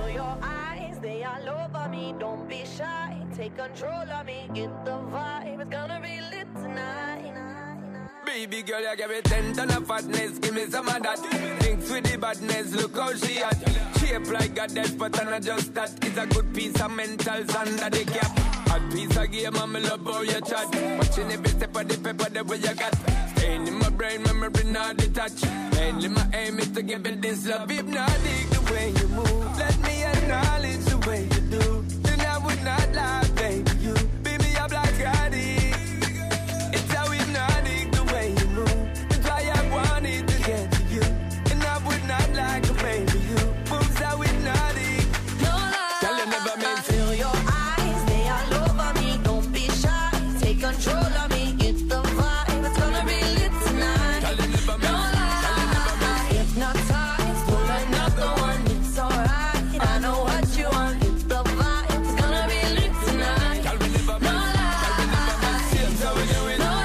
Baby girl, you give me 10 ton of fatness, give me some of that. Thinks with the badness, look how she at. Shape like a death, but I'm not just that. It's a good piece of mentals under the cap. Hot piece of game, I'm love how you chat. Watching every step of the paper, the way you got. Pain in my brain, memory not detached. Mainly my aim is to give it this love. Hypnotic the way you move. Let me acknowledge the way you do. Then I would not lie, baby. You beat me up like addict. It's how hypnotic the way you move. That's why I wanted to get to you. And I would not lie, baby. You moves how hypnotic. No lie. Tell you never meant to. Feel your eyes, they all over me. Don't be shy, take control of me. Get the vibe, it's gonna be lit tonight. Tell you never No meant. lie, hypnotized, pull another one. It's alright, I know what you want. Get the vibe, it's gonna be lit tonight. Tell me never No meant. Tell me never meant. Seems how we do it. No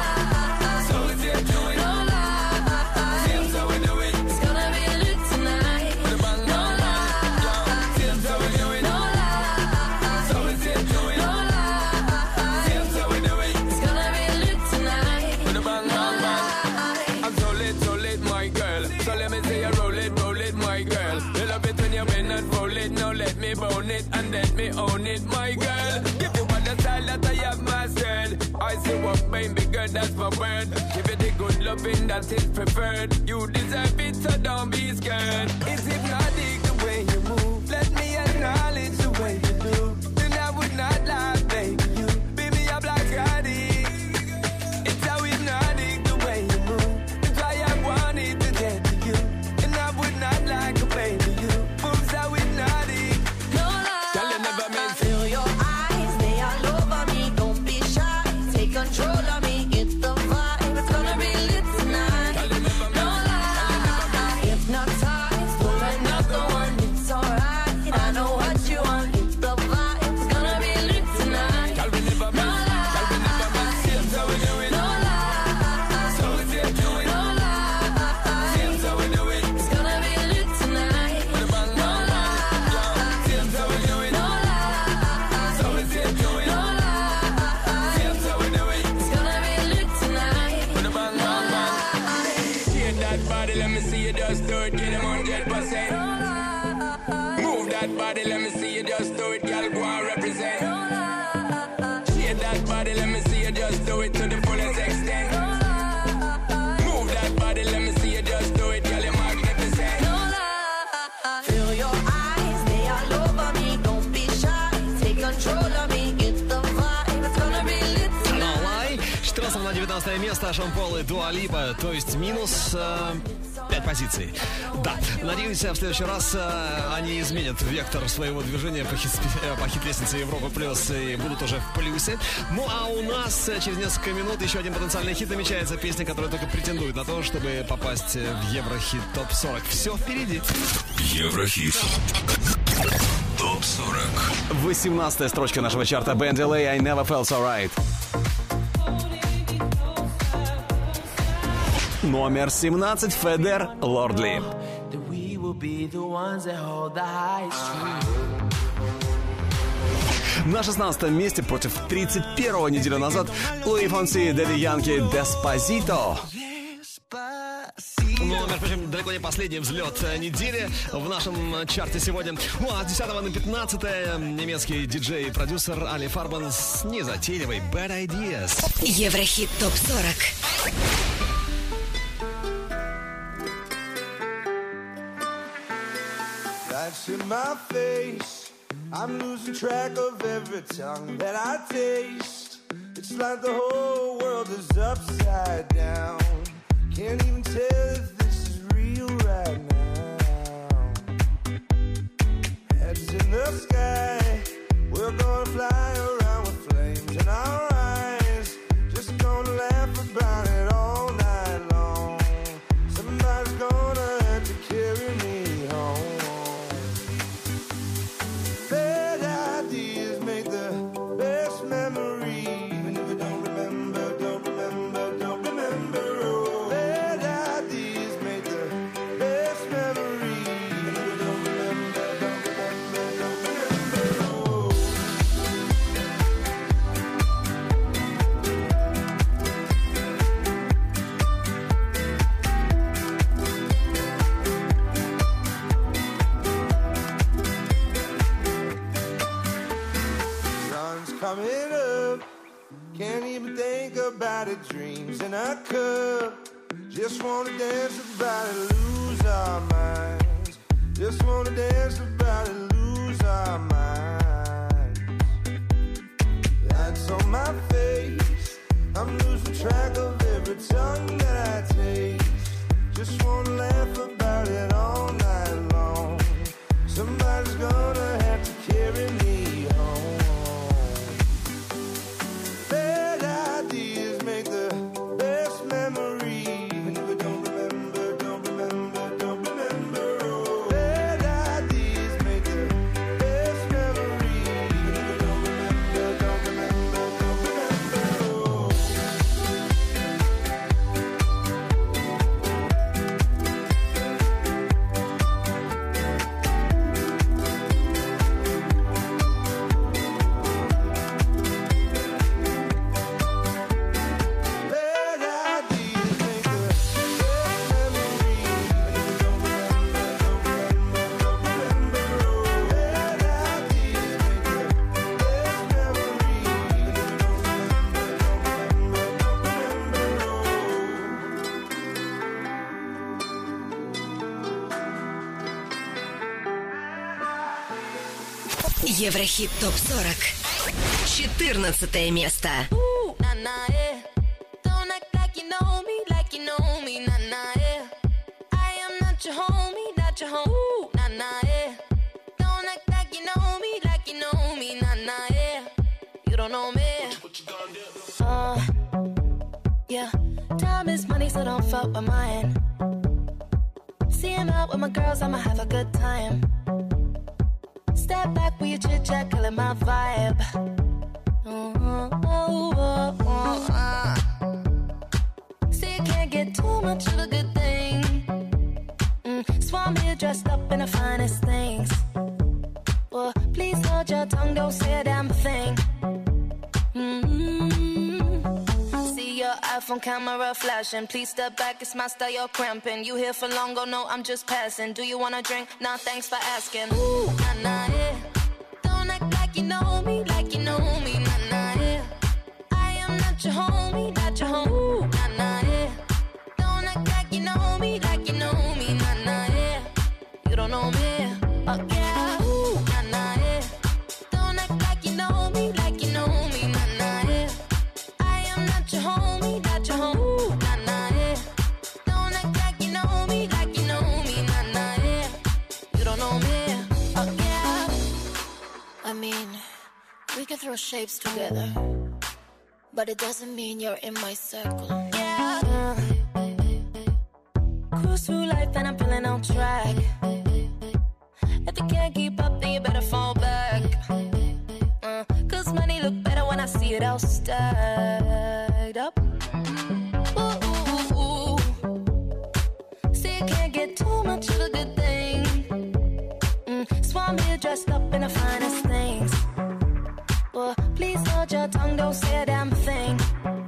lie, So we see it do it. no lie. Seems how we do it. It's gonna be lit tonight. Put a bang, No bang, bang. lie, Seems how we do it. no lie. So we see it do it. No lie, Seems how we do it. it's gonna be lit tonight. Put a bang, bang, bang. I'm so lit, my girl. So let me say you roll it, my girl. You love it when you bend and roll it. Now let me bone it and let me own it, my girl. Give you all the style that I have mastered. I say what baby girl, that's my word. Give it the good loving that is preferred. You deserve it, so don't be scared. It's hypnotic the way you move. Let me acknowledge the way you do. Then I would not lie, baby. You beat me up like addict. It's how hypnotic the way you move. That's why I wanted to get to you. And I would not like a baby. You moves how hypnotic. No lie. Tell you never meant to. Feel your eyes, they all over me. Don't be shy, take control of me. Get the vibe, it's gonna be lit tonight. Tell you never No meant. lie, hypnotized, pull another one. It's alright, I know what you want. Get the vibe, it's gonna be lit tonight. Tell me never No meant. Tell me never meant. Seems how we do it. No lie, So we see it do it. no lie. Seems how we do it. It's gonna be lit tonight. Put a bang, No bang, bang. lie, Seems how we do it. no lie. So we see it do it. No lie, Seems how we do it. it's gonna be lit tonight. Put a bang, bang, bang. Shake that body, let me see you just do it. Get 100%. Move that body, let me see you just do it. Girl, go and represent. Shake that body, let me see you just do it to the fullest extent. Move that body, let me see you just do it. Girl, you're magnificent. No lie. Feel your eyes, they all over me. Don't be shy, take control of me. Get the vibe, it's gonna be lit No tonight. Lie. 14 на 19 место Шон Пол и Дуа Липа, то есть минус 5 позиций. Да, надеюсь, в следующий раз они изменят вектор своего движения по хит-лестнице Европа Плюс и будут уже в плюсе. Ну а у нас через несколько минут еще один потенциальный хит намечается, песня, которая только претендует на то, чтобы попасть в Еврохит ТОП-40. Все впереди. Еврохит. ТОП-40. 18-я строчка нашего чарта. Band LA, I Never Felt So Right. Номер 17. Федер, Лордли. That we will be the ones that hold the high street. На 16 месте против 31-го неделю назад Луи Фонси, Дэдди Янки, Деспасито. Ну, между прочим, далеко не последний взлет недели в нашем чарте сегодня. Ну, а с 10 на 15 немецкий диджей и продюсер Али Фарбан с незатейливой Bad Ideas. Еврохит ТОП-40. Life's in my face. I'm losing track of every tongue that I taste. It's like the whole world is upside down. Can't even tell if this is real right now. Heads in the sky. We're gonna fly around with flames in our eyes. Just gonna laugh about it all night long. Somebody's gonna have to carry me home. Bad ideas make the best memories. Even if you don't remember, don't remember, don't remember. Oh, bad ideas make the best memories. Even if you don't remember, don't remember, don't remember. Oh. Sun's coming up, Can't even think about it. Dreams in a cup. Just wanna dance about it, lose our minds. Just wanna dance about it, lose our minds. That's on my face. I'm losing track of every tongue that I taste. Just wanna laugh about it all night long. Somebody's gonna have to carry me home. Bad ideas make the best memories. And if I don't remember, don't remember, don't remember. Oh, bad ideas make the best memories. And if I don't remember, don't remember, don't remember. Oh. Еврохит ТОП-40. 14 место. Don't act like you know me, like you know me, nah nah yeah. I am not your homie, not your home, nah nah yeah. Don't act like you know me, like you know me, nah nah yeah. You don't know me. Yeah. Time is money, so don't fuck with mine. See him out with my girls, I'ma have a good time. Step back with your chit chat, killing my vibe. See, you can't get too much of a good thing. So I'm here dressed up in the finest things. Well, please hold your tongue, don't say a damn thing. See your iPhone camera flashing. Please step back, it's my style, you're cramping. You here for long, oh no, I'm just passing. Do you wanna drink? Nah, thanks for asking. Ooh, nah, nah, yeah. Don't act like you know me, like you know me, nah, nah, yeah. I am not your homie, not your home. Ooh, nah, nah, yeah. Don't act like you know me, like you know me, nah, nah, yeah. You don't know me, oh yeah. Ooh, nah, nah, yeah. Don't act like you know me, like you know me, nah, nah, yeah. I am not your homie, not your home. Ooh, nah, nah, yeah. Don't act like you know me, like you know me, nah, nah, yeah. You don't know me, oh yeah. I mean, we can throw shapes together, but it doesn't mean you're in my circle. Yeah. Cruise through life and I'm feeling on track. If you can't keep up, then you better fall back. Cause money look better when I see it all stacked up. Ooh, ooh, ooh. See, you can't get too much of a good thing. So I'm here dressed up in the finest things. Well, please hold your tongue, don't say a damn thing.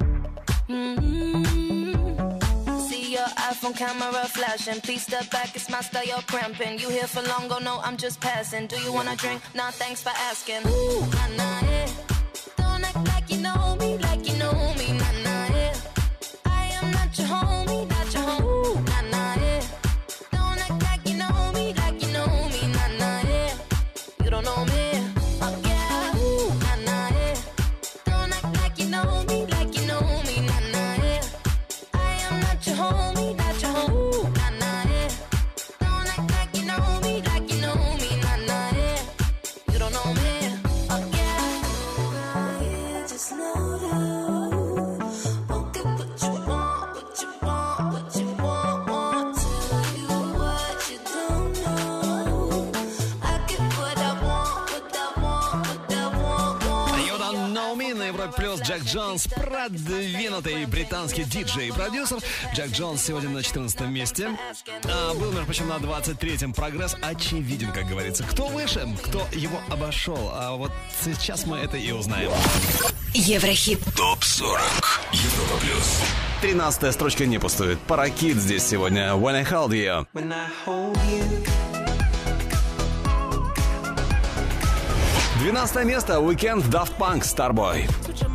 See your iPhone camera flashing. Please step back, it's my style, you're cramping. You here for long, oh no, I'm just passing. Do you wanna drink? Nah, thanks for asking. Ooh, nah, nah, yeah. Don't act like you know me, like you know me, nah, nah, yeah. I am not your homie, not your home. Ooh, nah, nah, yeah. Don't act like you know me, like you know me, nah, nah, yeah. You don't know me, oh yeah. Ooh, nah, nah, yeah. Don't act like you know me, like you know me, nah, nah, yeah. I am not your homie, not your home. Ooh, nah, nah, yeah. Don't act like you know me, like you know me, nah, nah, yeah. You don't know me, oh yeah. Just know you won't get what you want, what you want, what you want. Tell you what you don't know. I get what I want, what I want, what I want. You don't know me на Европе плюс. Джек Джонс, продвинутый британский диджей и продюсер. Джек Джонс сегодня на 14 месте. Был, между прочим, на 23-м. Прогресс очевиден, как говорится. Кто выше, кто его обошел. А вот сейчас мы это и узнаем. Еврохит ТОП-40. Европа плюс. 13-я строчка не пустует. Паракит здесь сегодня. When I Hold You. When I hold you. 12 место. Weekend, Daft Punk, Starboy.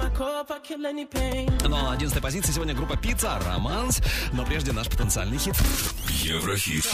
Ну а на 11 позиции сегодня группа Pizza, Романс. Но прежде наш потенциальный хит. Еврохит.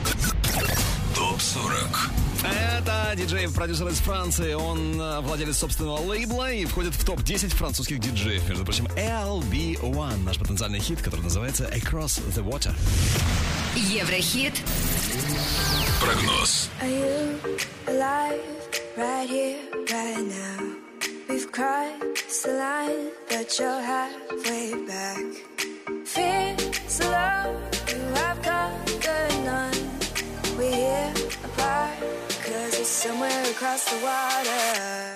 ТОП-40. Это диджей-продюсер из Франции. Он владелец собственного лейбла и входит в топ-10 французских диджеев. Между прочим, LB1, наш потенциальный хит, который называется Across the Water. Еврохит. Прогноз. Are you alive right here, right now? We've crossed the line, but you're halfway back. Fears alone, you have conquered none. We're here apart, 'cause it's somewhere across the water.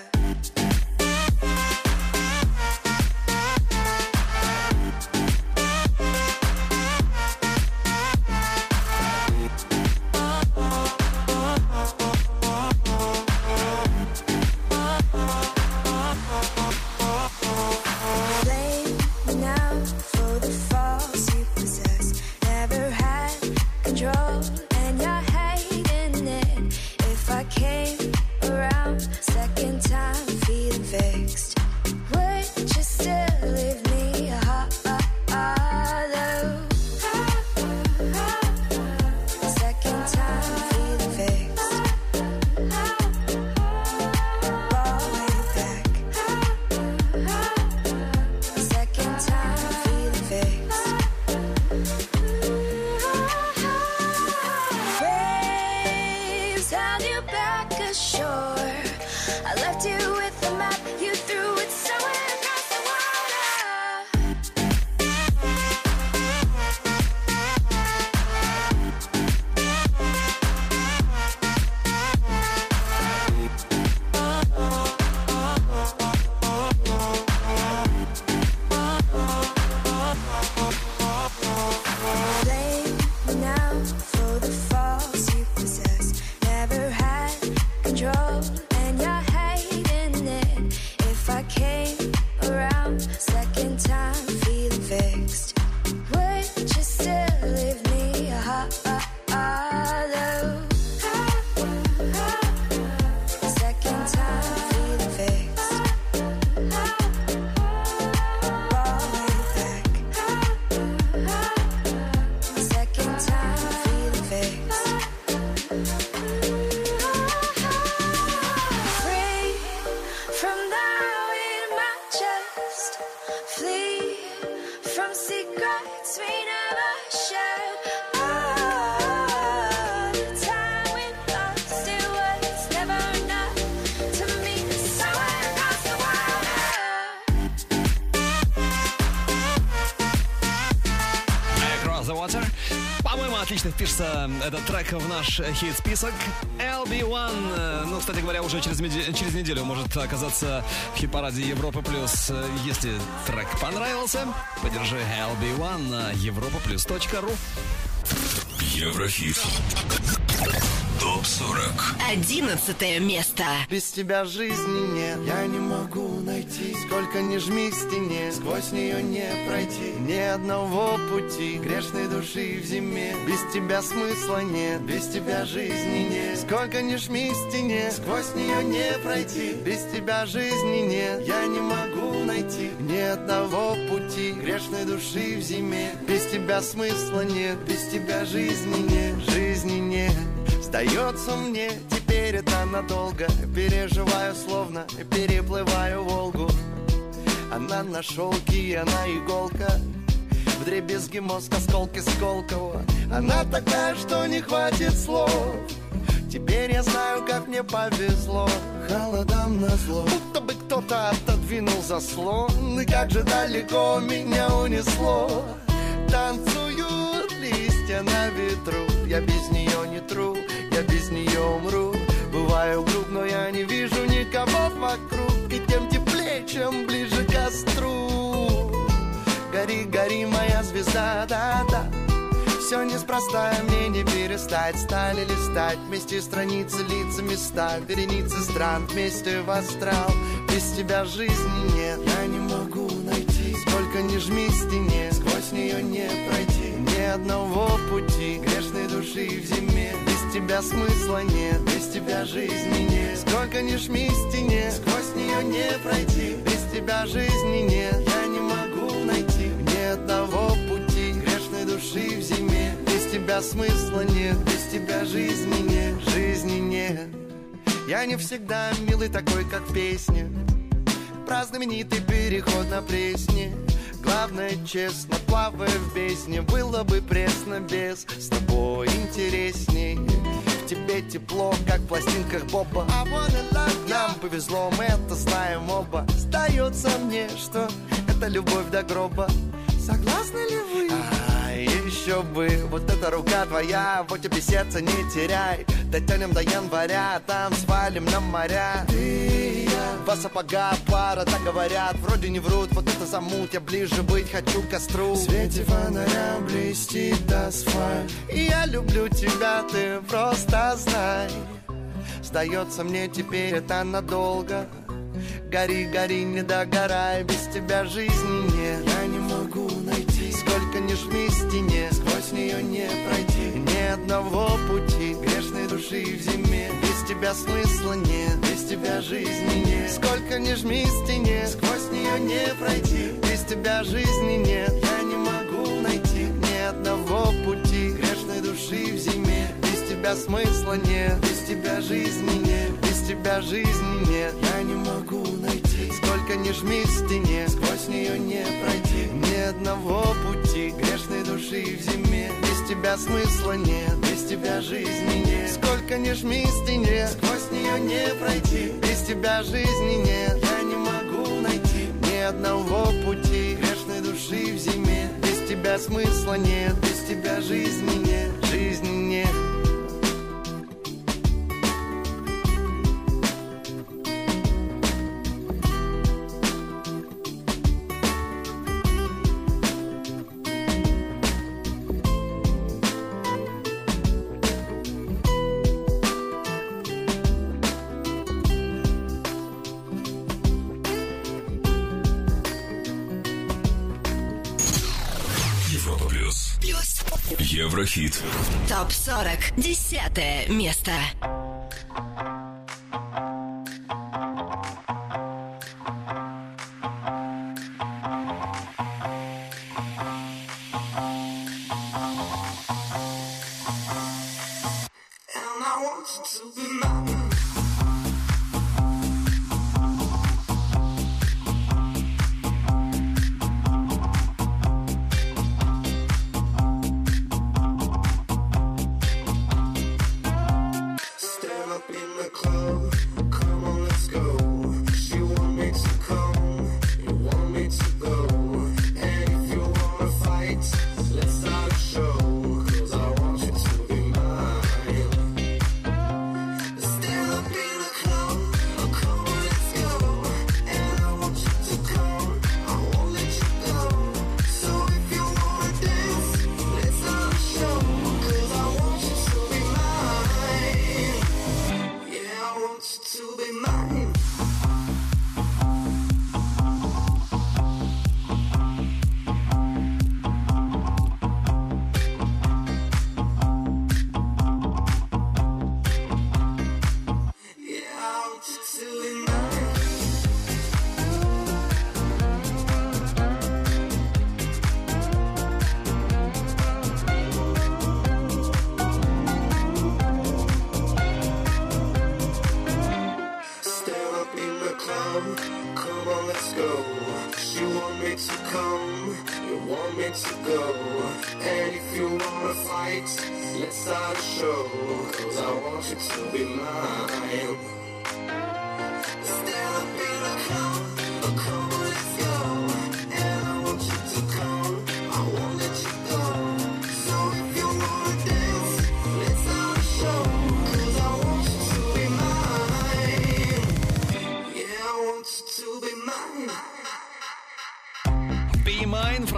Отлично впишется этот трек в наш хит-список. LB1, ну, кстати говоря, уже через неделю может оказаться в хит-параде Европа+. Если трек понравился, поддержи LB1 на europaplus.ru. Еврохит. ТОП-40. 11 место. Без тебя жизни нет, я не могу найти. Сколько ни жми к стене, сквозь нее не пройти. Ни одного пути, грешной души в зиме. Без тебя смысла нет, без тебя жизни нет. Сколько ни жми к стене, сквозь нее не пройти. Без тебя жизни нет, я не могу найти. Ни одного пути, грешной души в зиме. Без тебя смысла нет, без тебя жизни нет. Жизни нет. Сдается мне, теперь это надолго. Переживаю, словно переплываю Волгу. Она на шелке, она иголка. Вдребезги мозг, осколки Сколково. Она такая, что не хватит слов. Теперь я знаю, как мне повезло. Холодам назло, будто бы кто-то отодвинул заслон. И как же далеко меня унесло. Танцуют листья на ветру. Я без нее не тру, я без нее умру. Бываю груб, но я не вижу никого вокруг. И тем теплее, чем ближе к костру. Гори, гори, моя звезда, да-да. Все неспроста, мне не перестать. Стали листать вместе страницы, лица, места. Вереницы стран вместе в астрал. Без тебя жизни нет, я не могу найти. Сколько ни жми к стене, сквозь нее не пройти. Ни одного пути, грешной души в зиме. Без тебя смысла нет, без тебя жизни нет. Сколько Сколько ни жми стене, сквозь нее не пройти. Без тебя жизни нет, я не могу найти ни одного пути грешной души в зиме. Без тебя смысла нет, без тебя жизни нет, жизни нет. Я не всегда милый такой, как в песне, про знаменитый переход на Пресне. Главное, честно, плавая в бездне, было бы пресно без, с тобой интересней. В тебе тепло, как в пластинках Боба. Нам повезло, мы это знаем оба. Сдается мне, что это любовь до гроба. Согласны ли вы? Еще бы, вот эта рука твоя, вот тебе сердце не теряй. Дотянем до января, там свалим на моря. Ты и я, два сапога пара, так говорят, вроде не врут. Вот это замут, я ближе быть хочу к костру. В свете фонаря блестит асфальт. И я люблю тебя, ты просто знай. Сдается мне теперь это надолго. Гори, гори, не догорай, без тебя жизни нет. Я не могу найти, сколько ни жми стене, сквозь нее не пройти ни одного пути грешной души в зиме. Без тебя смысла нет, без тебя жизни нет. Сколько ни жми стене, сквозь нее не пройти. Без тебя жизни нет, я не могу найти ни одного пути грешной души в зиме. Без тебя смысла нет, без тебя жизни нет. Без тебя жизни нет, я не могу найти. Сколько ни жми в стене, сквозь нее не пройти ни одного пути грешной души в зиме. Без тебя смысла нет, без тебя жизни нет. Сколько ни жми в стене, сквозь нее не пройти. Без тебя жизни нет, я не могу найти ни одного пути грешной души в зиме. Без тебя смысла нет, без тебя жизни нет, жизни нет. Еврохит. ТОП-40. 10 место.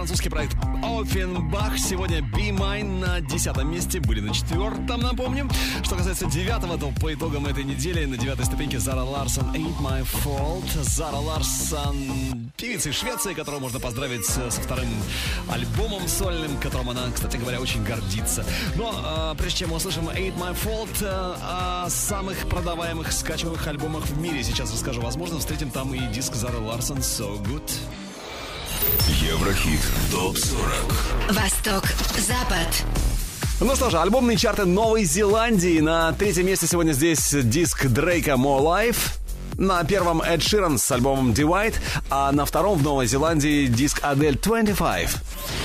французский проект Offenbach. Сегодня Be Mine на 10-м месте, были на 4-м, напомним. Что касается 9-го, то по итогам этой недели на 9-й ступеньке Зара Ларсон «Ain't My Fault». Зара Ларсон, певица из Швеции, которую можно поздравить со вторым альбомом сольным, которым она, кстати говоря, очень гордится. Но прежде чем мы услышим «Ain't My Fault», о самых продаваемых скачиваемых альбомах в мире сейчас расскажу. Возможно, встретим там и диск Зары Ларсон «So Good». Еврохит ТОП-40. Восток, Запад. Ну что же, альбомные чарты Новой Зеландии. На 3-м месте сегодня здесь диск Дрейка «More Life». На 1-м Эд Ширан с альбомом «Divide», а на 2-м в Новой Зеландии диск Адель «25».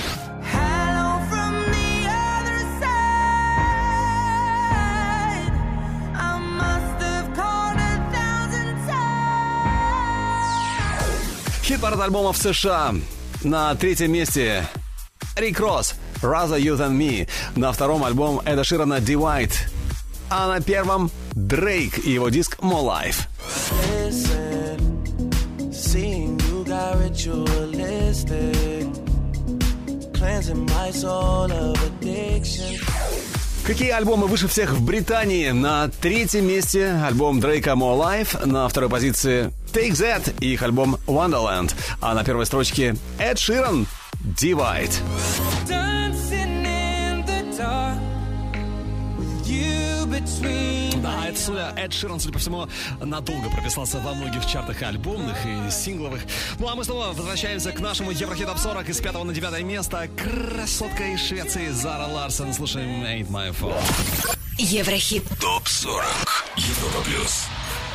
Хит-парад альбомов США. На 3-м месте Рик Росс «Rather You Than Me». На 2-м альбом Эда Ширана «Divide». А на 1-м Дрейк и его диск «More Life». Какие альбомы выше всех в Британии? На 3-м месте альбом Дрейка «More Life», на 2-й позиции Take That и их альбом «Wonderland», а на 1-й строчке Эд Ширан «Divide». Да, Эд Ширан, судя по всему, надолго прописался во многих чартах альбомных и сингловых. Ну а мы снова возвращаемся к нашему Еврохит Топ 40 из 5 на 9 место. Красотка из Швеции Зара Ларсон. Слушаем «Ain't My Fault». Еврохит Топ 40. Европа плюс.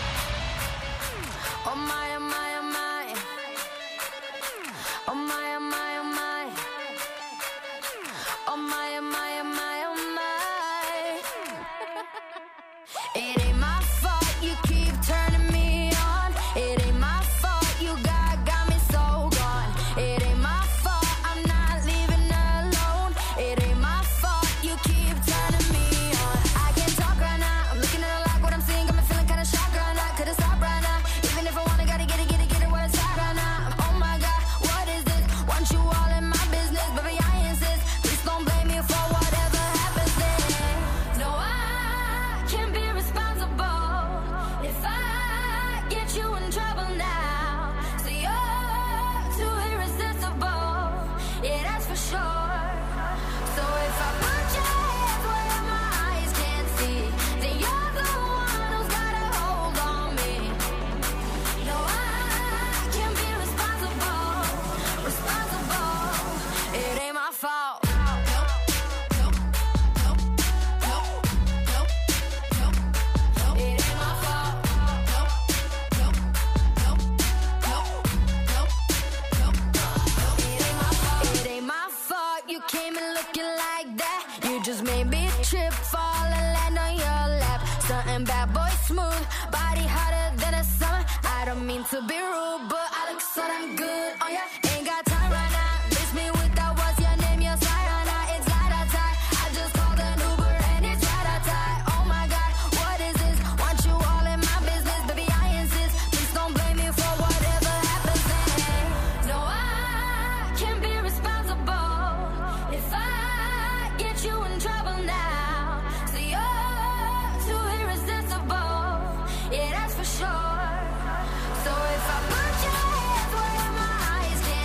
To be rude, but I look so damn good on ya. Ain't got time right now. Miss me with that. What's your name? Your side right now. It's light outside. I just called an Uber and it's right outside. Oh my God, what is this? Want you all in my business, baby. I insist. Please don't blame me for whatever happens then. No, I can't be responsible if I get you in trouble now. So you're too irresistible. Yeah, that's for sure. So if I put your hands where my eyes can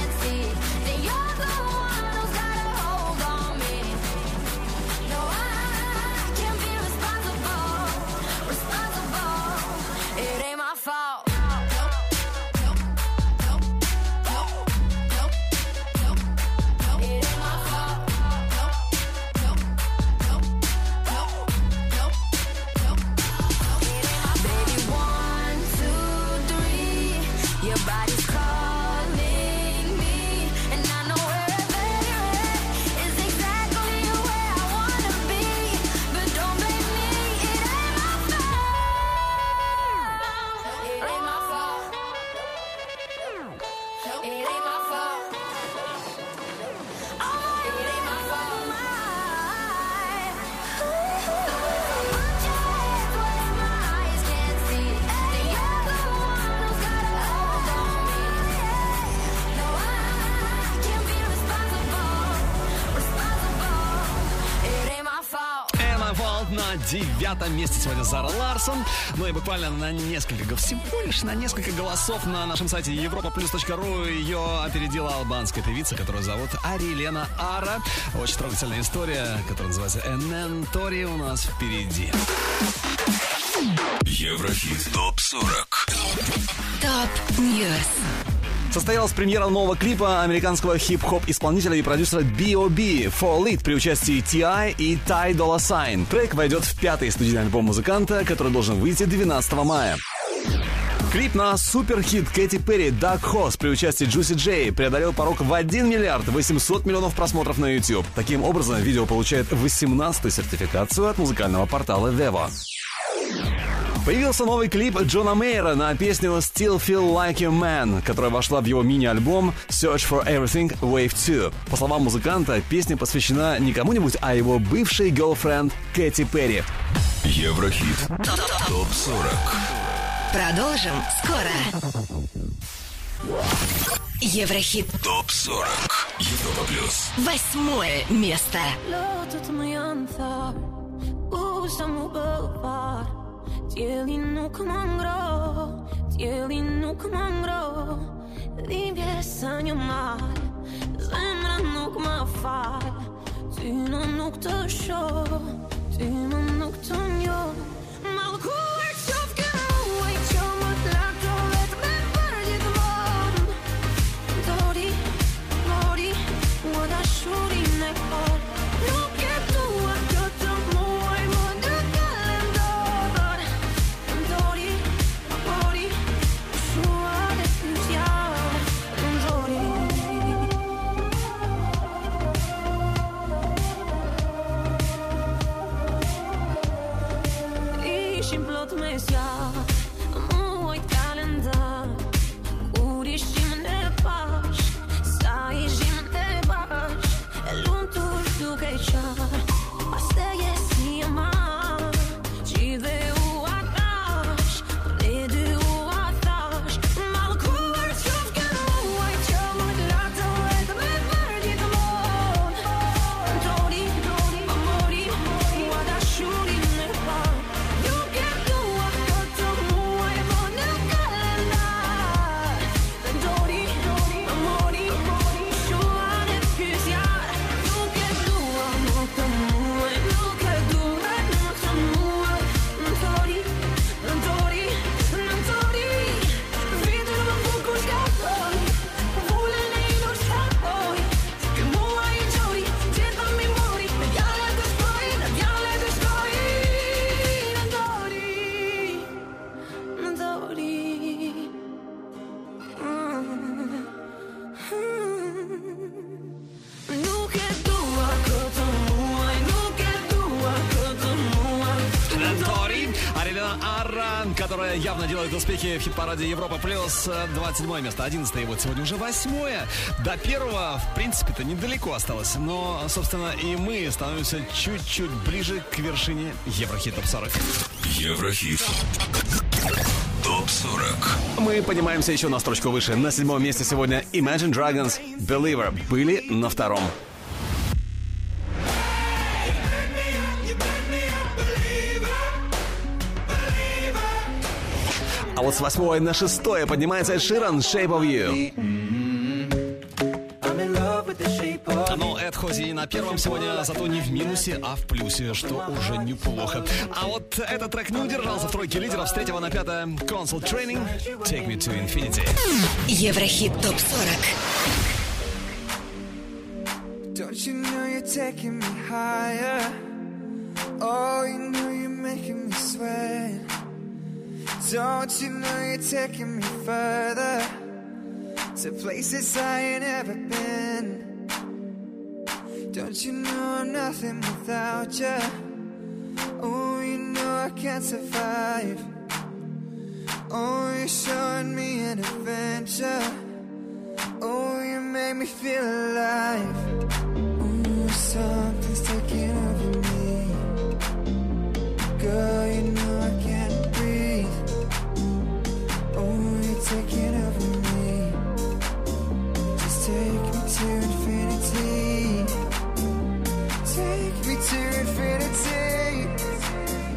9-м месте сегодня Зара Ларсон. Ну и буквально всего лишь на несколько голосов на нашем сайте europaplus.ru ее опередила албанская певица, которую зовут Арилена Ара. Очень трогательная история, которая называется «Энентори» у нас впереди. Еврохит ТОП-40. ТОП-Ньюс. Состоялась премьера нового клипа американского хип-хоп исполнителя и продюсера B.O.B. «Fall It» при участии T.I. и Ty Dolla $ign. Трек войдет в 5-й студийный альбом музыканта, который должен выйти 12 мая. Клип на суперхит Кэти Перри «Dark Horse» при участии Juicy J преодолел порог в 1 миллиард 800 миллионов просмотров на YouTube. Таким образом, видео получает 18-ю сертификацию от музыкального портала Vevo. Появился новый клип Джона Мейера на песню «Still Feel Like a Man», которая вошла в его мини-альбом «Search for Everything Wave 2». По словам музыканта, песня посвящена не кому-нибудь, а его бывшей герлфренд Кэти Перри. Еврохит ТОП-40. Продолжим скоро. Еврохит ТОП-40. Европа плюс. 8-е место. Låter som en jänta Osam och bövar Dieli nuk mangro Dieli nuk mangro Dhimbje sa një mal Zemra nuk ma fal Ty në nuk të shoh Ty më nuk të njoh Mallkuar qof ke muaj Që më t'lakto vet me për gjithmonë Dori, mori Mua dashurin e por Nuk e dua këtë muaj Më në kalendor Dori, mori Shua dhe pytja Dori Ishim plot me zjarr Muajt kalendar Kur ishim në pash Sa ishim në bash E lumë të duke qarë Pas të jesi e ma Qidhe u atash Dhe dy u atash Mallkuar qof ke muaj Që më t'lakto vetë me për gjithmonë Dori, mori Mua dashurin e par Nuk e dua këtë muaj Më në kalendar Dori, mori Shua dhe pytja Nuk e dua më këtë muaj Nuk e dua më këtë muaj Dori Vitur më bukur shkatoj Vullën e inur shkatoj Ky muaj i gjori Gjitha mi mori Në djale të shkoj Në djale të shkoj Në dori Nuk e dua këtë muaj Nuk e dua këtë muaj Энентори, Арилена Ара, которая явно делает успехи в хит-параде Европа плюс. 27 место, 11 и вот сегодня уже 8. До первого, в принципе-то, недалеко осталось. Но, собственно, и мы становимся чуть-чуть ближе к вершине Еврохит ТОП-40. Еврохит ТОП-40. Мы поднимаемся еще на строчку выше. На 7-м месте сегодня Imagine Dragons «Believer» были на 2-м. А вот с 8-й на 6-е поднимается Эд Ширан «Shape of You». Но Эд хоть и на первом сегодня, зато не в минусе, а в плюсе, что уже неплохо. А вот этот трек не удержался в тройке лидеров. С 3 на 5 Console Training «Take Me to Infinity». Еврохит ТОП-40. Don't you know you're taking me higher? Oh, you know you're making me sweat. Don't you know you're taking me further to places I ain't ever been? Don't you know I'm nothing without you? Oh, you know I can't survive. Oh, you're showing me an adventure. Oh, you make me feel alive. Ooh, something's taking over me. Girl, you know I can't breathe. Oh, you're taking over me. Just take me to infinity. Take me to infinity.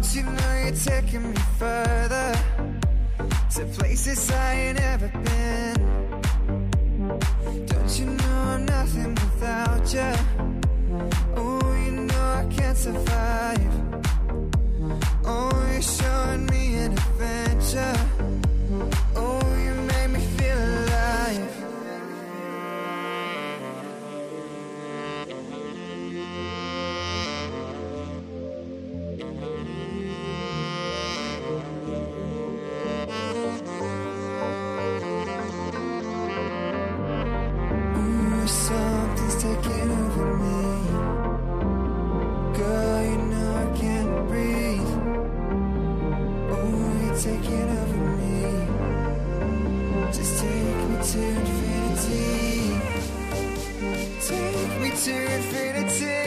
you know you're taking me further to places I ain't ever been? Don't you know I'm nothing without you? Oh, you know I can't survive. Oh, you're showing me an adventure. Oh, you make me feel alive. Ooh, something's taking over me. Girl, you know I can't breathe. Oh, you're taking over me. Just take me to infinity. Take me to infinity.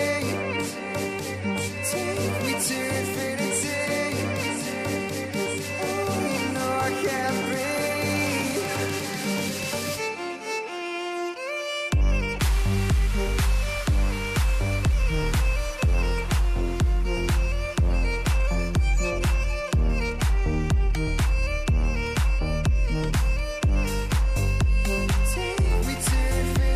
Take me to infinity. Oh, you know I can't breathe. Take me to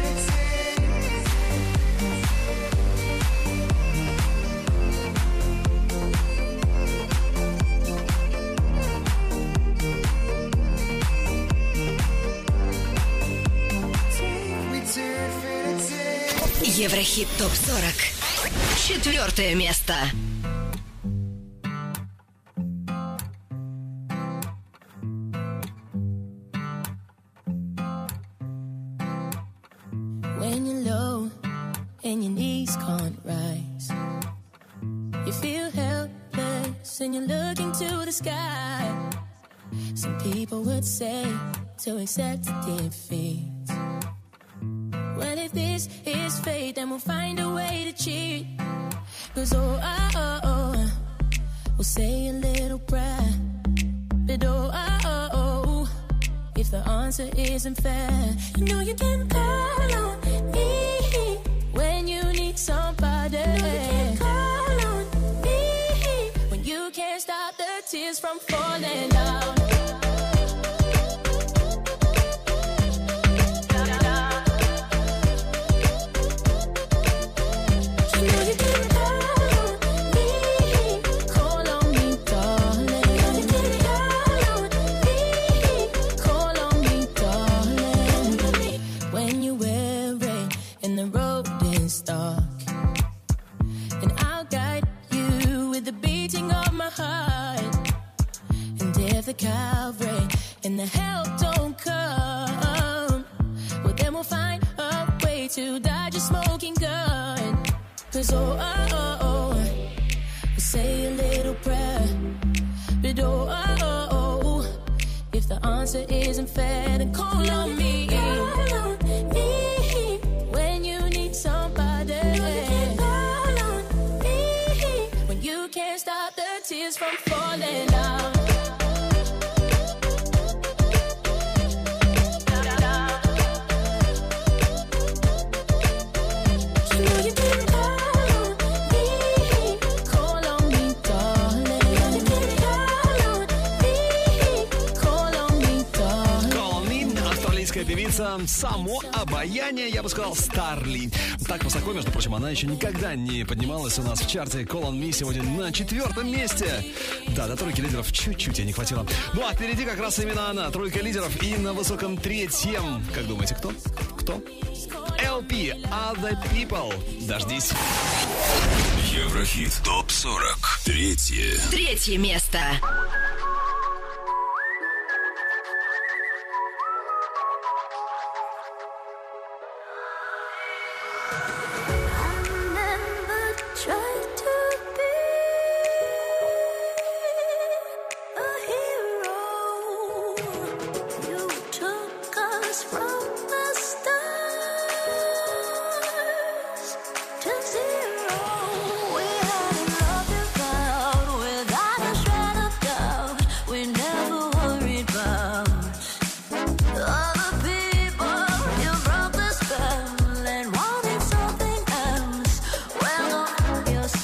infinity. Еврохит ТОП-40. 4 место. When you're low and your knees can't rise, you feel helpless and you're looking to the sky. Some people would say to accept defeat. Well, if this is fate, then we'll find a way to cheat. 'Cause we'll say a little prayer. But if the answer isn't fair, you know you can call on me when you need somebody. You can call on me when you can't stop the tears from falling down. The Calvary and the help don't come, well then we'll find a way to dodge a smoking gun. 'Cause we'll say a little prayer. But if the answer isn't fair, then call on me. Call on me when you need somebody. Call on me when you can't stop the tears from falling down. Певица само обаяние, я бы сказал, Старли. Так высоко, между прочим, она еще никогда не поднималась у нас в чарте. Call on Me сегодня на 4 месте. Да, до тройки лидеров чуть-чуть ей не хватило. Ну а впереди как раз именно она, тройка лидеров. И на высоком 3-м. Как думаете, кто? Кто? LP, Other People. Дождись. Еврохит ТОП-40. 3 место. You're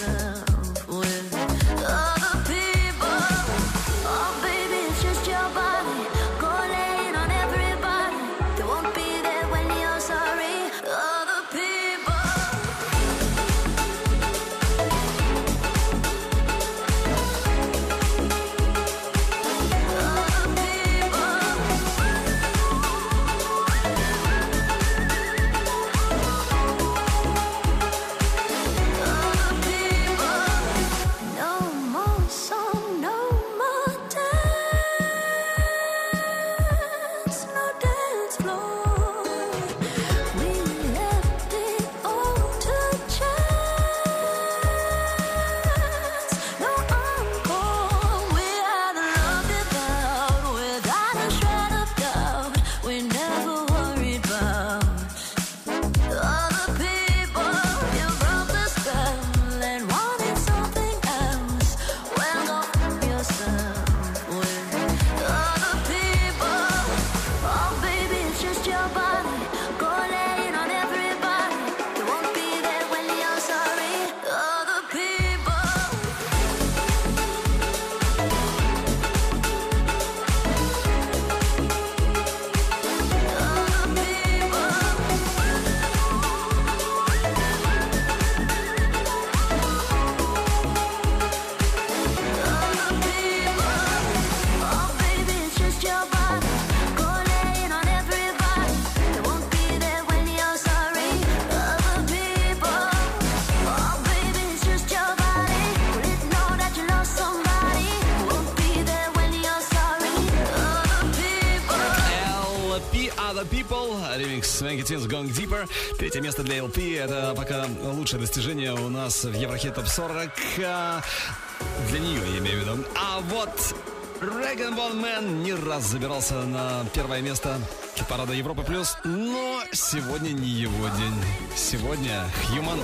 ремикс Swanky Tunes Going Deeper. Третье место для LP. Это пока лучшее достижение у нас в Еврохит Топ 40. Для нее, я имею в виду. А вот Rag & Bone Man не раз забирался на первое место хит-парада Европы+, но сегодня не его день. Сегодня Human.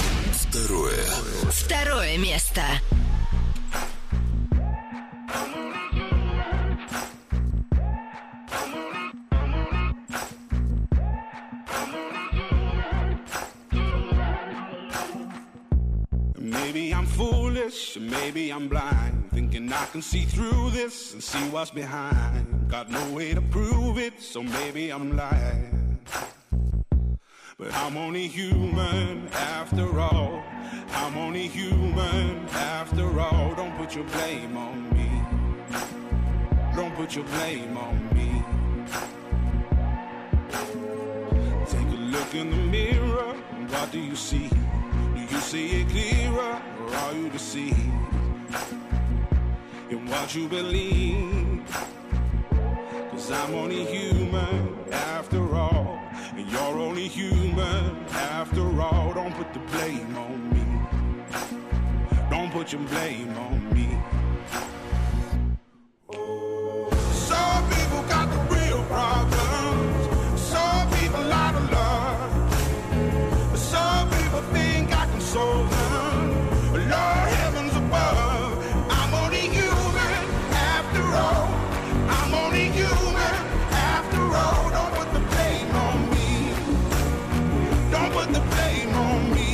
Второе место. Maybe I'm foolish, maybe I'm blind, thinking I can see through this and see what's behind. Got no way to prove it, so maybe I'm lying. But I'm only human after all. I'm only human after all. Don't put your blame on me. Don't put your blame on me. Take a look in the mirror, what do you see? Do you see it clearer, or are you deceived in what you believe? 'Cause I'm only human after all, and you're only human after all. Don't put the blame on me. Don't put your blame on me. Some people got the real problems. Some people out of love. Some people think I can solve them. Lord, heavens above, I'm only human after all. I'm only human after all. Don't put the blame on me. Don't put the blame on me.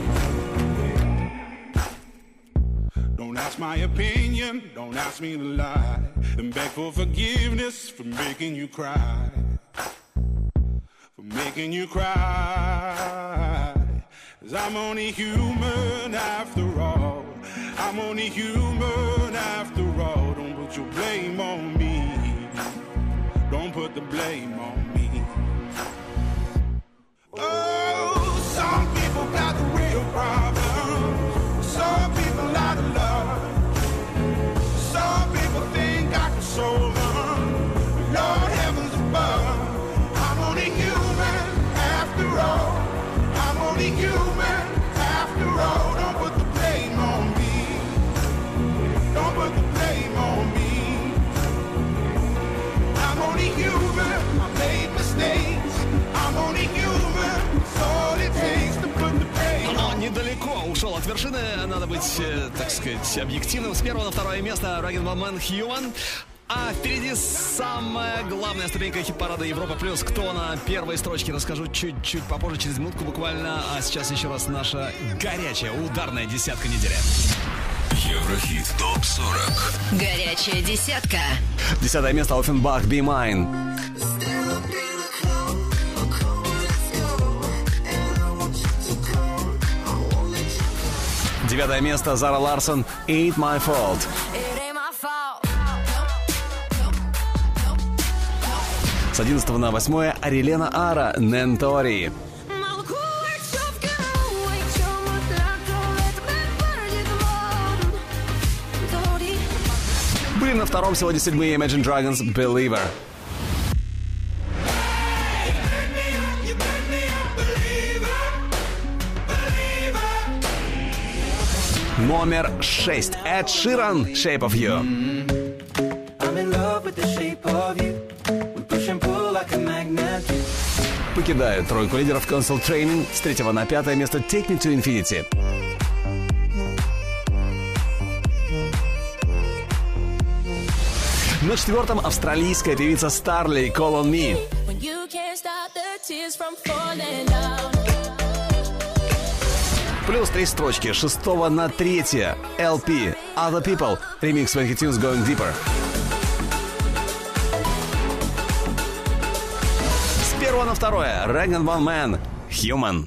Don't ask my opinion, don't ask me to lie, and beg for forgiveness for making you cry. For making you cry. 'Cause I'm only human after all. I'm only human after all. Don't put your blame on me. Don't put the blame on me. Oh, some people got the real problems. Some people out of love. Some people think I can solve them. Lord, heavens above, I'm only human after all. I'm only human after all. Don't put the blame on me. Don't put the blame on me. I'm only human. I made mistakes. I'm only human. It's all it takes to put the blame on me. Но недалеко ушел от вершины. Надо быть, так сказать, объективным. С первого на второе место Rag & Bone Man Human. А впереди самая главная ступенька хит-парада Европа+. Кто на первой строчке, расскажу чуть-чуть попозже, через минутку буквально. А сейчас еще раз наша горячая ударная десятка недели. Еврохит ТОП-40. Горячая десятка. 10 место Offenbach Be Mine. 9 место Зара Ларсон Ain't My Fault. С 11 на 8 Арилена Ара Нентори. Были на втором сегодня 7-е Imagine Dragons Believer. Номер 6 Эд Ширан Shape of You. I'm in love with the shape of you. We push and pull like a magnet. Покидает тройку лидеров Console Training с 3 на 5 место Take Me to Infinity. На 4 австралийская певица Starley Call on Me. Плюс 3 строчки. 6 на 3 LP Other People. Ремикс Swanky Tunes Going Deeper. С 1 на 2 Rag & Bone Man Human.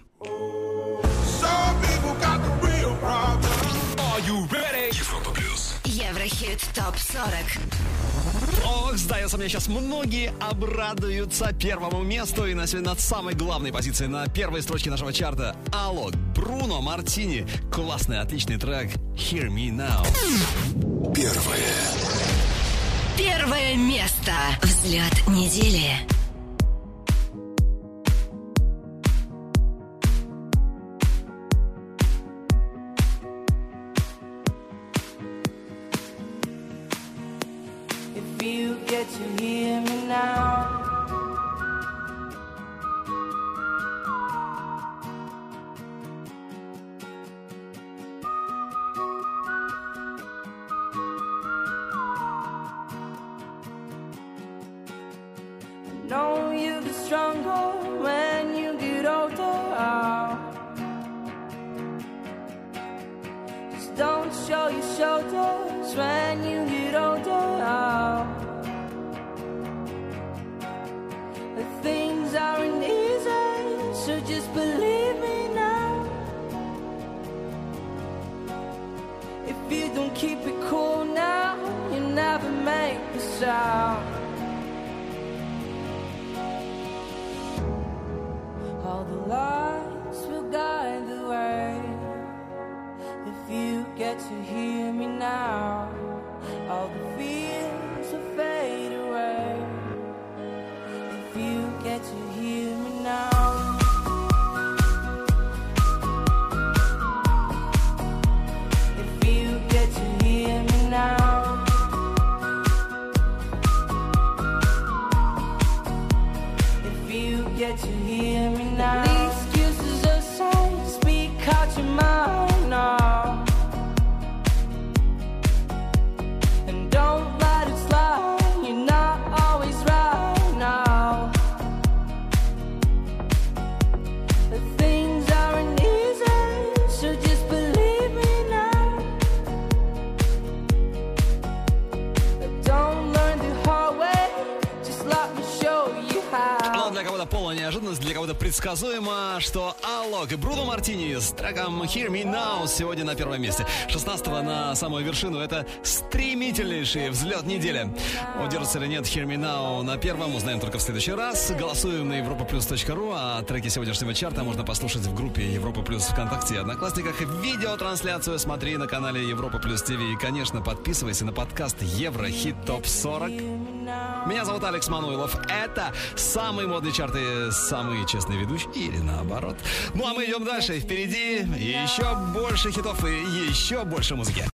Еврохит ТОП-40. Ох, сдается мне, сейчас многие обрадуются первому месту. И на сегодня над самой главной позицией на первой строчке нашего чарта Алло, Бруно Мартини. Классный, отличный трек Hear Me Now. Первое место. Взгляд недели. get to hear me now. I know you get stronger when you get older. Just don't show your shoulders when you get older. Things aren't easy, so just believe me now. If you don't keep it cool now, you never make a sound. All the lights will guide the way. If you get to hear me now, all the fears will fade away. If you get to hear me now. If you get to hear me now. If you get to hear me now. The excuses aside, speak out your mind now. And don't let it slide, you're not always right now. The things aren't easy, so just believe me now. Don't learn the hard way, just let me show you how. Ну, для кого-то полная неожиданность, для кого-то предсказуемо, что Алок и Бруно Мартини с треком Hear Me Now сегодня на первом месте. 16-го на самую вершину. Это стремительнейший взлет недели. Удержится или нет Hear Me Now на первом, узнаем только в следующий раз. Голосуем на europaplus.ru, а треки сегодняшнего чарта можно послушать в группе Европа Плюс ВКонтакте и Одноклассниках. Видеотрансляцию смотри на канале Европа Плюс ТВ. И, конечно, подписывайся на подкаст Еврохит Топ 40. Меня зовут Алекс Мануилов. Это самые модные чарты, самые честные ведущие или наоборот. Ну а мы идем дальше. Впереди еще больше хитов и еще больше музыки.